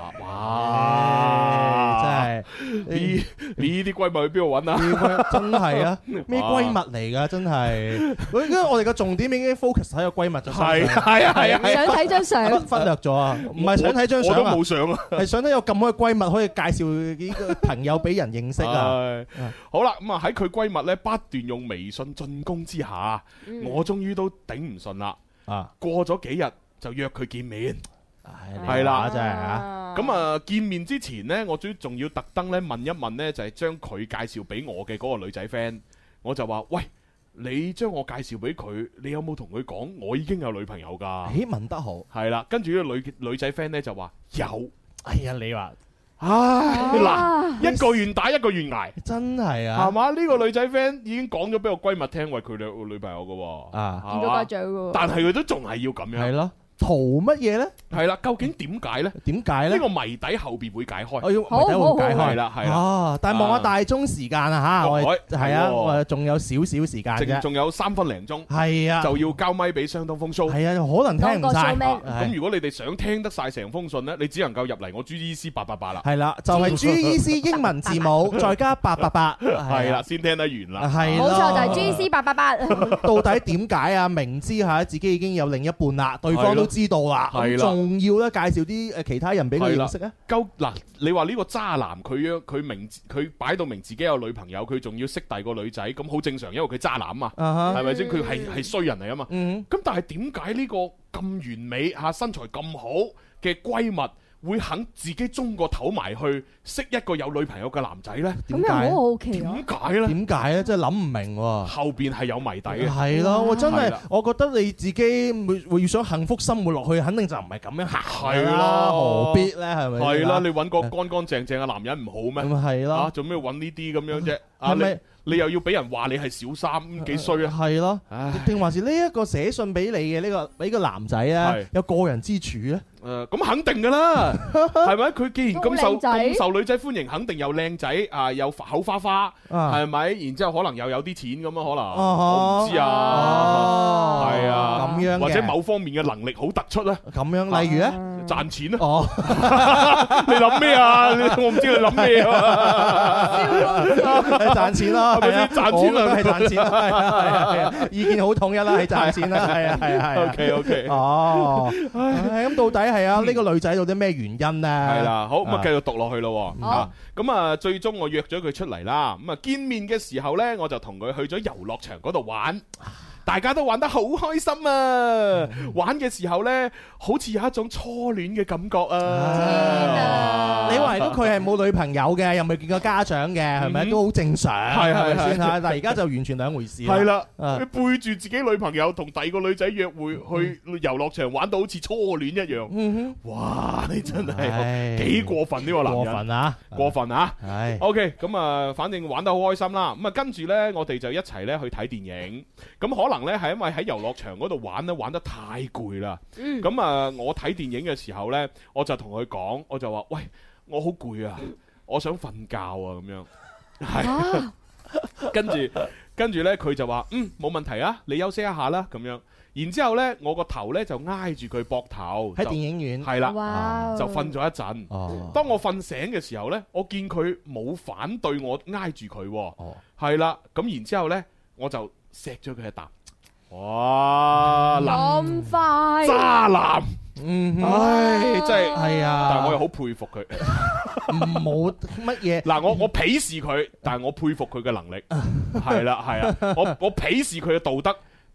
哇！真係呢呢啲閨蜜去邊度揾啊？ 真係啊！咩閨蜜嚟㗎？真係。因為我哋嘅重點已經 focus 喺個閨蜜就係係啊係啊！ 想睇張相， 忽略咗啊！唔係想睇張相啊！ 我都冇相啊！ 係想睇有咁好嘅閨蜜可以介紹呢個朋友俾人認識啊！ 好啦，咁啊喺佢閨蜜咧不斷用微信進攻之下，我終於都頂唔順啦。啊！過咗幾日就約佢見面，係啦，真係啊！咁啊，見面之前呢，我仲仲要特登咧問一問呢，就係將佢介紹俾我嘅嗰個女仔 friend，我就話：喂，你將我介紹俾佢，你有冇同佢講我已經有女朋友㗎？ 誒，問得好， 係啦。跟住呢個女女仔 friend 呢就話有。 哎呀，你話。 唉，嗱，一個願打一個願挨， 真係啊， 係嘛？呢個女仔 friend 已經講咗俾我閨蜜聽，喂，佢有女朋友噶， 啊， 見到家長噶， 但係佢都仲係要咁樣， 係咯。圖乜嘢咧？ 係啦，究竟點解咧？ 點解咧？ 呢個謎底後邊會解開。 我要謎底會解開啦，係啦。 哦，但係望下大鐘時間啊嚇，我係啊，我仲有少少時間啫， 仲有三分零鐘。 係啊， 就要交咪俾相當風騷。 係啊，可能聽唔晒。 咁如果你哋想聽得晒成封信咧，你只能夠入嚟我 G E C 八八八啦。 係啦，就係 G E C 英文字母再加八八八。 係啦，先聽得完啦。 係冇錯，就係 G E C 八八八。 到底點解啊？明知嚇自己已經有另一半啦，對方都知道啦。仲要咧介紹啲誒其他人俾佢認識啊？ 夠嗱，你話呢個渣男佢樣佢明佢擺到明自己有女朋友，佢仲要識第二個女仔，咁好正常，因為佢渣男啊，係咪先？佢係係衰人嚟啊嘛。咁但係點解呢個咁完美嚇身材咁好嘅閨蜜會肯自己中個頭埋去識一個有女朋友嘅男仔呢？ 咁又好好奇啊！ 點解呢？ 點解呢？真係諗唔明喎。 後邊係有謎底嘅。 係咯，我真係，我覺得你自己會會想幸福生活落去，肯定就唔係咁樣行。係啦，何必呢？係咪？ 係啦，你揾個乾乾淨淨嘅男人唔好咩？ 咁係咯。 啊，做咩揾呢啲咁樣啫？ 係咪？ 你又要俾人話你係小三，幾衰啊？ 係咯，定還是呢一個寫信俾你嘅呢個俾個男仔咧，有過人之處咧？ 誒，咁肯定噶啦，係咪？佢既然咁受咁受女仔歡迎，肯定又靚仔啊，又口花花，係咪？然之後可能又有啲錢咁啊，可能我唔知啊，係啊， 咁樣， 或者某方面嘅能力好突出啊， 咁樣，例如咧， 賺錢啊！哦，你諗咩啊？我唔知你諗咩啊？ 賺錢啦， 係咪先？賺錢啦， 係賺錢啦，係啊係啊，意見好統一啦，係賺錢啦，係啊係啊係。 OK OK， 哦，咁到底係啊？呢個女仔到底咩原因咧？ 係啦，好咁啊，繼續讀落去咯。啊，咁啊，最終我約咗佢出嚟啦。咁啊，見面嘅時候咧，我就同佢去咗遊樂場嗰度玩。大家都玩得好開心啊！玩嘅時候呢，好似有一種初戀嘅感覺啊！ 你話如果佢係冇女朋友嘅，又未見過家長嘅，係咪都好正常？係係咪先嚇？但係而家就完全兩回事。 係啦，佢背住自己女朋友同第二個女仔約會去遊樂場，玩到好似初戀一樣。哇！你真係幾過分呢個男人？ 過分啊！ 過分啊！ 係。 OK，咁啊，反正玩得好開心啦。咁啊，跟住呢，我哋就一齊咧去睇電影。咁可能咧係因為喺遊樂場嗰度玩咧玩得太攰啦，咁啊、嗯、我睇電影嘅時候咧，我就同佢講，我就話：喂，我好攰啊，我想瞓覺啊，咁樣。係、啊，跟住跟住咧，佢就話：嗯，冇問題啊，你休息一下啦，咁樣。然之後咧，我個頭咧就挨住佢膊頭喺電影院， 係啦， 哇就瞓咗一陣。哦、當我瞓醒嘅時候咧，我見佢冇反對我挨住佢，係啦、哦，咁然之後咧，我就錫咗佢一啖。哇！ 咁快， 渣男， 嗯， 唉，真係係啊！ 但係我又好佩服佢， 冇乜嘢。 嗱，我我鄙視佢，但係我佩服佢嘅能力，係啦，係啊，我我鄙視佢嘅道德，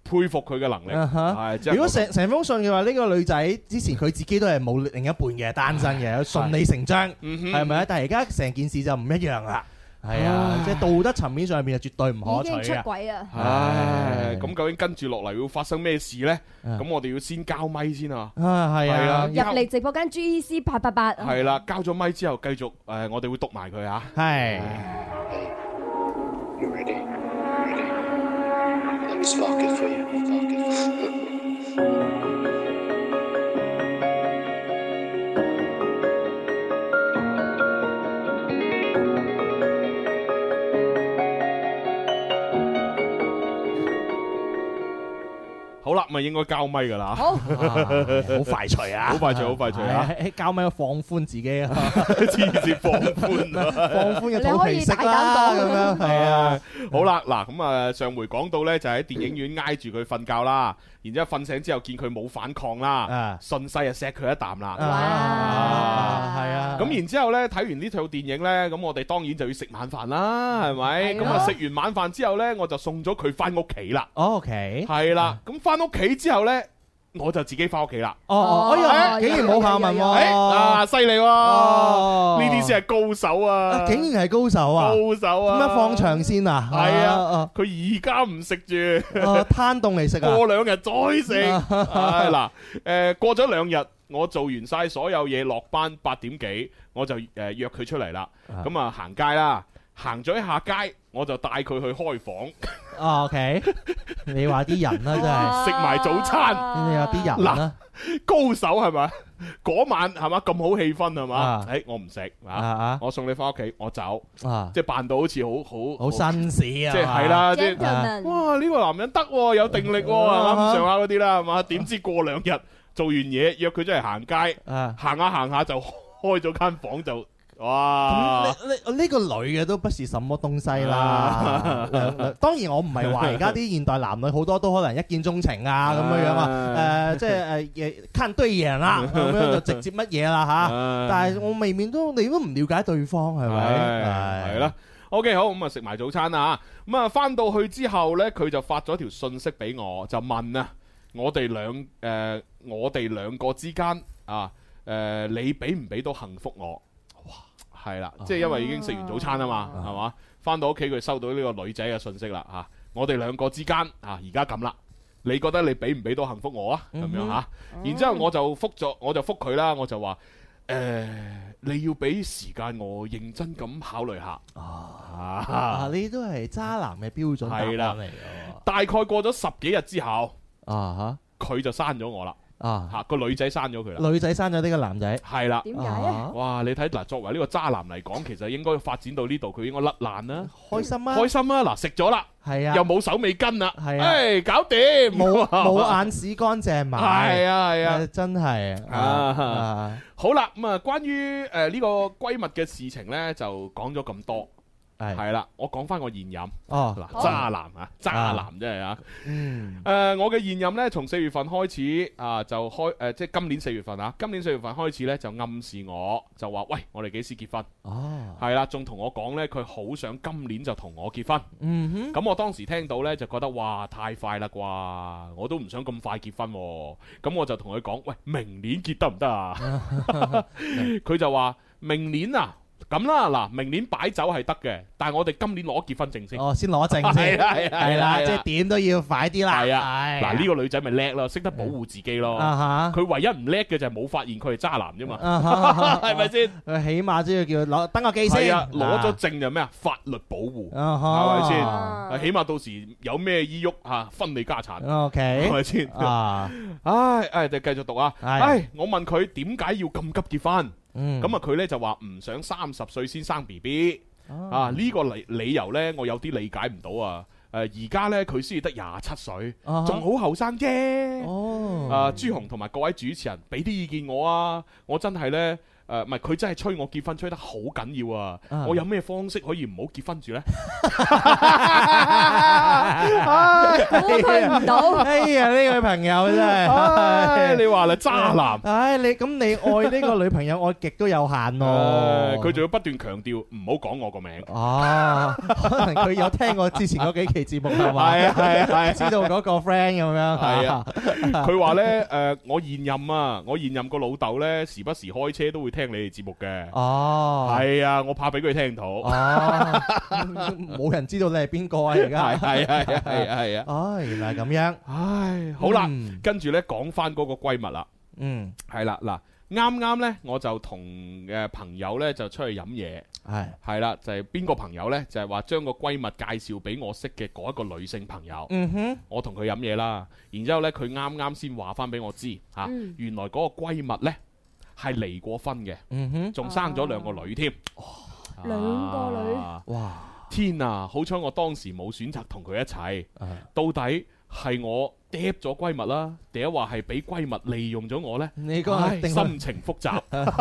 佩服佢嘅能力。係， 如果成成封信嘅話，呢個女仔之前佢自己都係冇另一半嘅，單身嘅，順理成章，係咪啊？但係而家成件事就唔一樣啦。係啊，即係道德層面上面就絕對唔可取啊！ 已經出軌啊！ 唉，咁究竟跟住落嚟會發生咩事咧？咁我哋要先交咪先啊！ 啊，係啊， 入嚟直播間 G E C 八八八。 係啦，交咗咪之後，繼續誒，我哋會讀埋佢啊！ 係。 You ready? Ready? Let me spark it for you. Spark it for you. 好啦，咪應該交咪噶啦。 好， 好快脆啊！ 好快脆，好快脆啊！ 喺交咪放寬自己啊！ 黐線放寬啊！ 放寬嘅肚皮式啦，咁樣係啊！ 好啦，嗱咁啊，上回講到咧就喺電影院挨住佢瞓覺啦，然之後瞓醒之後見佢冇反抗啦，順勢啊錫佢一啖啦。 哇！係啊！ 咁然之後咧睇完呢套電影咧，咁我哋當然就要食晚飯啦，係咪？咁啊食完晚飯之後咧，我就送咗佢翻屋企啦。 OK， 係啦，咁翻屋企之後咧，我就自己翻屋企啦。 哦，哎呀，竟然冇下文喎！ 啊，犀利喎！呢啲先係高手啊！ 竟然係高手啊！ 高手啊！ 點解放長線啊？ 係啊，佢而家唔食住， 攤凍嚟食啊！ 過兩日再食。係嗱，誒過咗兩日，我做完晒所有嘢，落班八點幾，我就誒約佢出嚟啦。咁啊行街啦，行咗一下街，我就帶佢去開房。 哦 OK， 你話啲人啦，真係食埋早餐。 你話啲人啦， 高手係咪？嗰晚係嘛咁好氣氛係嘛？誒，我唔食啊，我送你翻屋企，我走，即係扮到好似好好好紳士啊， 即係係啦，即係哇呢個男人得，有定力係嘛咁上下嗰啲啦係嘛？點知過兩日做完嘢約佢出嚟行街，行下行下就開咗間房就。哇！ 呢呢個女嘅都不是什麼東西啦。當然我唔係話而家啲現代男女好多都可能一見鐘情啊咁樣樣啊。誒，即係誒看對眼啦，咁樣就直接乜嘢啦嚇。但係我未免都你都唔了解對方係咪？ 係啦。OK， 好咁啊，食埋早餐啦嚇。咁啊，翻到去之後咧，佢就發咗條信息俾我，就問啊，我哋兩誒我哋兩個之間啊誒，你俾唔俾到幸福我？係啦，即係因為已經食完早餐啊嘛，係嘛？翻到屋企佢收到呢個女仔嘅信息啦嚇，我哋兩個之間啊而家咁啦，你覺得你俾唔俾到幸福我啊？咁樣嚇，然之後我就覆咗，我就覆佢啦，我就話誒，你要俾時間我認真咁考慮下。 啊，呢都係渣男嘅標準答案嚟嘅。 大概過咗十幾日之後， 啊嚇， 佢就刪咗我啦。 啊吓個女仔刪咗佢啦， 女仔刪咗呢個男仔， 係啦， 點解啊？ 哇！你睇嗱，作為呢個渣男嚟講，其實應該發展到呢度，佢應該甩爛啦， 開心啊， 開心啊！嗱，食咗啦， 係啊， 又冇手尾跟啦， 係啊， 誒，搞掂， 冇冇眼屎乾淨埋， 係啊係啊， 真係啊！好啦，咁啊，關於誒呢個閨蜜嘅事情咧，就講咗咁多。係係啦，我講翻我現任哦， 嗱，渣男啊，渣男真係啊， 嗯， 誒，我嘅現任咧，從四月份開始啊，就開誒，即係今年四月份啊，今年四月份開始咧，就暗示我，就話喂，我哋幾時結婚？ 哦， 係啦，仲同我講咧，佢好想今年就同我結婚。 嗯哼， 咁我當時聽到咧，就覺得哇，太快啦啩，我都唔想咁快結婚。咁我就同佢講，喂，明年結得唔得啊？佢就話明年啊。咁啦，嗱，明年擺酒係得嘅，但係我哋今年攞結婚證先。 哦，先攞證先，係啦，即係點都要快啲啦。 係啊，嗱，呢個女仔咪叻咯，識得保護自己咯。佢唯一唔叻嘅就係冇發現佢係渣男啫嘛，係咪先？ 佢起碼都要叫攞登個記先。 係啊，攞咗證就咩啊？法律保護，係咪先？起碼到時有咩依郁吓分你家產。 OK， 係咪先？啊，唉，唉，就繼續讀啊。唉，我問佢點解要咁急結婚？咁啊，佢咧就話唔想三十歲先生 B B 啊，呢個理理由咧，我有啲理解唔到啊。誒，而家咧佢先至得廿七歲，仲好後生啫。哦，啊，朱紅同埋各位主持人俾啲意見我啊，我真係咧誒唔係佢真係催我結婚催得好緊要啊！我有咩方式可以唔好結婚住咧？ 估佢唔到。 哎呀，呢位朋友真係， 你話啦，渣男。 唉，你咁你愛呢個女朋友愛極都有限咯。 佢仲要不斷強調唔好講我個名。 哦，可能佢有聽過之前嗰幾期節目係嘛？ 係啊係啊係， 知道嗰個 friend 咁樣。 係啊，佢話咧誒，我現任啊，我現任個老豆咧，時不時開車都會聽你哋節目嘅。 哦， 係啊，我怕俾佢聽到。 哦，冇人知道你係邊個啊？而家係係係啊係啊係啊。 哦，原來係咁樣。 唉，好啦，跟住咧講翻嗰個閨蜜啦。 嗯， 係啦嗱。啱啱呢，我就同嘅朋友呢就出去飲嘢，係係啦，就係邊個朋友呢？就係話將個閨蜜介紹俾我識嘅嗰一個女性朋友。嗯哼，我同佢飲嘢啦，然之後呢，佢啱啱先話翻俾我知嚇，啊嗯、原來嗰個閨蜜呢係離過婚嘅，嗯哼，仲生咗兩個女添， 啊、兩個女， 哇！天啊，好彩我當時冇選擇同佢一齊，啊、到底係我嗲咗閨蜜啦，定係話係俾閨蜜利用咗我呢？你個心情複雜，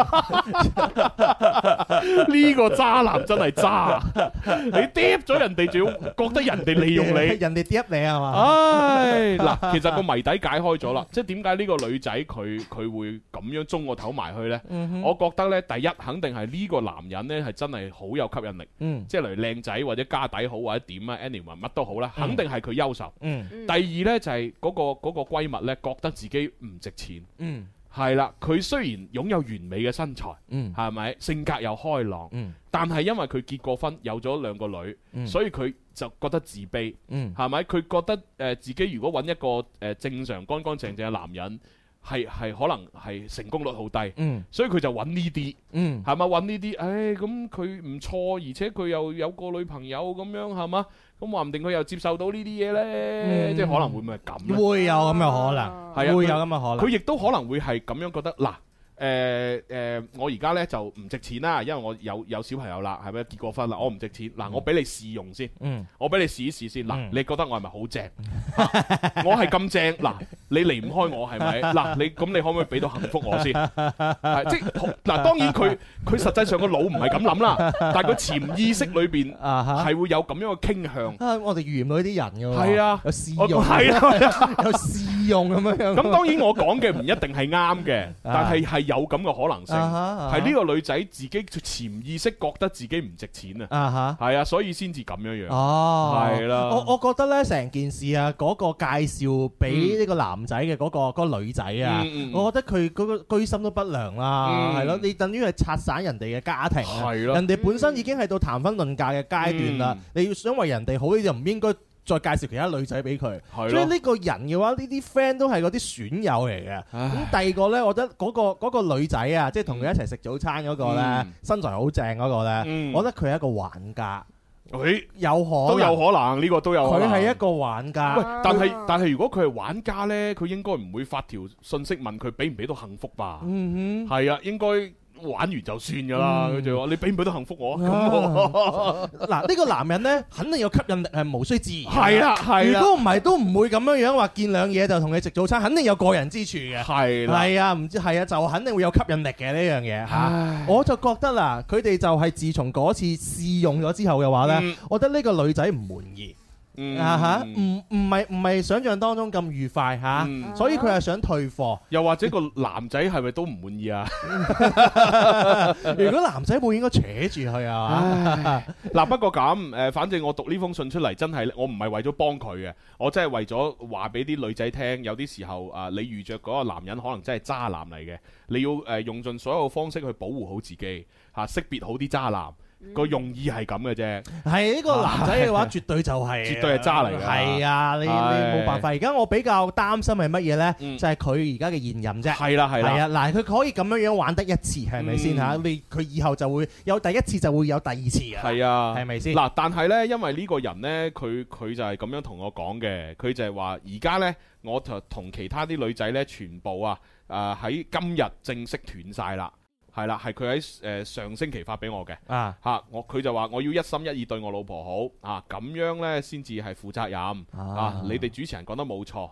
呢個渣男真係渣，你嗲咗人哋，仲要覺得人哋利用你， 人哋嗲你係嘛？ 唉，嗱，其實個謎底解開咗啦，即係點解呢個女仔佢佢會咁樣中個頭埋去呢？嗯、哼我覺得呢，第一肯定係呢個男人呢係真係好有吸引力，嗯、即係例如靚仔或者家底好或者點啊 anyway 乜都好啦，肯定係佢優秀。嗯、第二呢，就係、是。嗰、嗰個嗰、嗰個閨蜜咧，覺得自己唔值錢，嗯，係啦。佢雖然擁有完美嘅身材，嗯，係咪性格又開朗，嗯，但係因為佢結過婚，有咗兩個女，嗯、所以佢就覺得自卑，嗯，係咪？佢覺得誒、呃、自己如果揾一個誒、呃、正常乾乾淨淨嘅男人，係係可能係成功率好低，嗯，所以佢就揾呢啲，嗯，係咪揾呢啲？誒咁佢唔錯，而且佢又有個女朋友咁樣，係嘛？咁話唔定佢又接受到呢啲嘢呢，嗯、即係可能會唔會係咁？會有咁嘅可能，係啊，會有咁嘅可能。 佢亦都可能會係咁樣覺得嗱。誒誒、呃呃，我而家咧就唔值錢啦，因為我有有小朋友啦，係咪結過婚啦？我唔值錢，嗱，我俾你試用先，嗯、我俾你試一試先，嗱，嗯、你覺得我係咪好正？啊、我係咁正，嗱，你離唔開我係咪？嗱，你咁你可唔可以俾到幸福我先？係即係嗱，當然佢佢實際上個腦唔係咁諗啦，但係佢潛意識裏邊係會有咁樣嘅傾向。 啊、我哋遇唔到呢啲人㗎喎， 係啊， 有試用，係啊，有試用咁樣樣。 咁當然我講嘅唔一定係啱嘅，但係係。有咁嘅可能性，係呢個女仔自己潛意識覺得自己唔值錢啊，係啊，所以先至咁樣樣。哦，係啦。 我我覺得咧，成件事啊，嗰個介紹俾呢個男仔嘅嗰個嗰個女仔啊，我覺得佢嗰個居心都不良啦，係咯。你等於係拆散人哋嘅家庭啊，人哋本身已經係到談婚論嫁嘅階段啦，你要想為人哋好，你就唔應該再介紹其他女仔俾佢，所以呢個人嘅話，呢啲 friend 都係嗰啲損友嚟嘅。咁第二個呢，我覺得嗰個嗰個女仔啊，即係同佢一齊食早餐嗰個呢，身材好正嗰個呢，我覺得佢係一個玩家。 誒， 有可能都有可能呢個都有。 佢係一個玩家。 喂，但係但係如果佢係玩家呢，佢應該唔會發條信息問佢俾唔俾到幸福吧？嗯哼，係啊，應該。玩完就算噶啦，佢就話你俾唔俾到幸福我？咁嗱，呢個男人咧，肯定有吸引力，係無需置疑。 係啦，係啦。 如果唔係，都唔會咁樣樣話見兩嘢就同你食早餐，肯定有過人之處嘅。係啦，係啊，唔知係啊，就肯定會有吸引力嘅呢樣嘢嚇。我就覺得啦，佢哋就係自從嗰次試用咗之後嘅話咧，我覺得呢個女仔唔滿意。嗯啊吓，唔唔係唔係想象當中咁愉快吓，所以佢係想退貨。 又或者個男仔係咪都唔滿意啊？ 如果男仔會應該扯住佢啊？ 嗱，不過咁誒，反正我讀呢封信出嚟，真係我唔係為咗幫佢嘅，我真係為咗話俾啲女仔聽，有啲時候啊，你遇着嗰個男人可能真係渣男嚟嘅，你要誒用盡所有方式去保護好自己吓，識別好啲渣男。個用意係咁嘅啫， 係呢個男仔嘅話，絕對就係， 絕對係渣嚟嘅。 係啊，你你冇辦法。而家我比較擔心係乜嘢呢？就係佢而家嘅現任啫。係啦係啦。係啊，嗱，佢可以咁樣樣玩得一次，係咪先嚇？你佢以後就會有第一次，就會有第二次啊。係啊，係咪先？ 嗱，但係呢，因為呢個人呢，佢佢就係咁樣同我講嘅，佢就係話而家呢，我就同其他啲女仔呢，全部啊誒喺今日正式斷晒啦。係啦，係佢喺誒上星期發俾我嘅啊嚇，我佢就話我要一心一意對我老婆好啊，咁樣呢先至係負責任啊！你哋主持人講得冇錯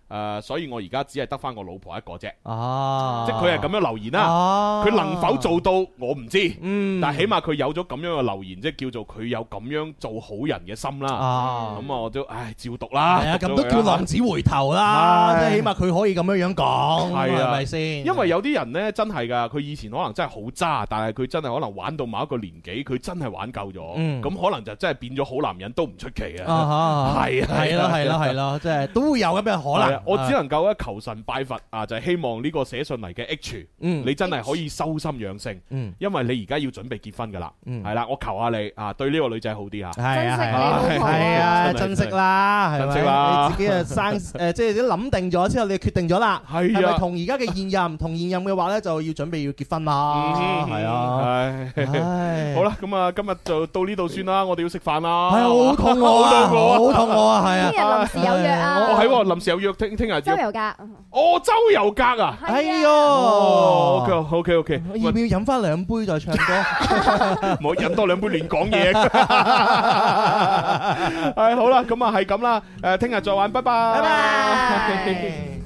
誒，所以我而家只係得翻我老婆一個啫。 哦， 即係佢係咁樣留言啦。佢能否做到我唔知，但係起碼佢有咗咁樣嘅留言，即係叫做佢有咁樣做好人嘅心啦。咁啊，我都唉照讀啦。 係啊，咁都叫浪子回頭啦。即係起碼佢可以咁樣樣講，係咪先？ 因為有啲人呢，真係㗎，佢以前可能真係好渣，但係佢真係可能玩到某一個年紀，佢真係玩夠咗，咁可能就真係變咗好男人都唔出奇啊！係啊， 係咯，係咯，係咯，即係都會有咁嘅可能。 我只能夠咧求神拜佛啊，就係希望呢個寫信嚟嘅 H，你真係可以修心養性，因為你而家要準備結婚噶啦，係啦，我求下你啊，對呢個女仔好啲嚇， 係啊，係啊，係啊，珍惜啦， 珍惜啦， 你自己啊生誒，即係諗定咗之後，你決定咗啦，係咪同而家嘅現任同現任嘅話咧，就要準備要結婚啦，係啊， 係，好啦，咁啊，今日就到呢度算啦，我哋要食飯啦， 係啊，好肚餓啊，好肚餓啊，係啊， 聽日臨時有約啊， 哦係喎，臨時有約，聽聽日周遊格， 哦周遊格啊， 哎喲 ，OK OK OK， 要唔要飲翻兩杯再唱歌？ 唔好飲多兩杯亂講嘢。係好啦，咁啊係咁啦，誒聽日再玩，拜拜。拜拜。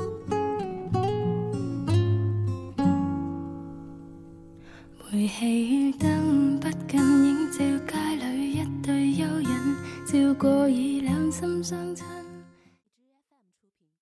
回氣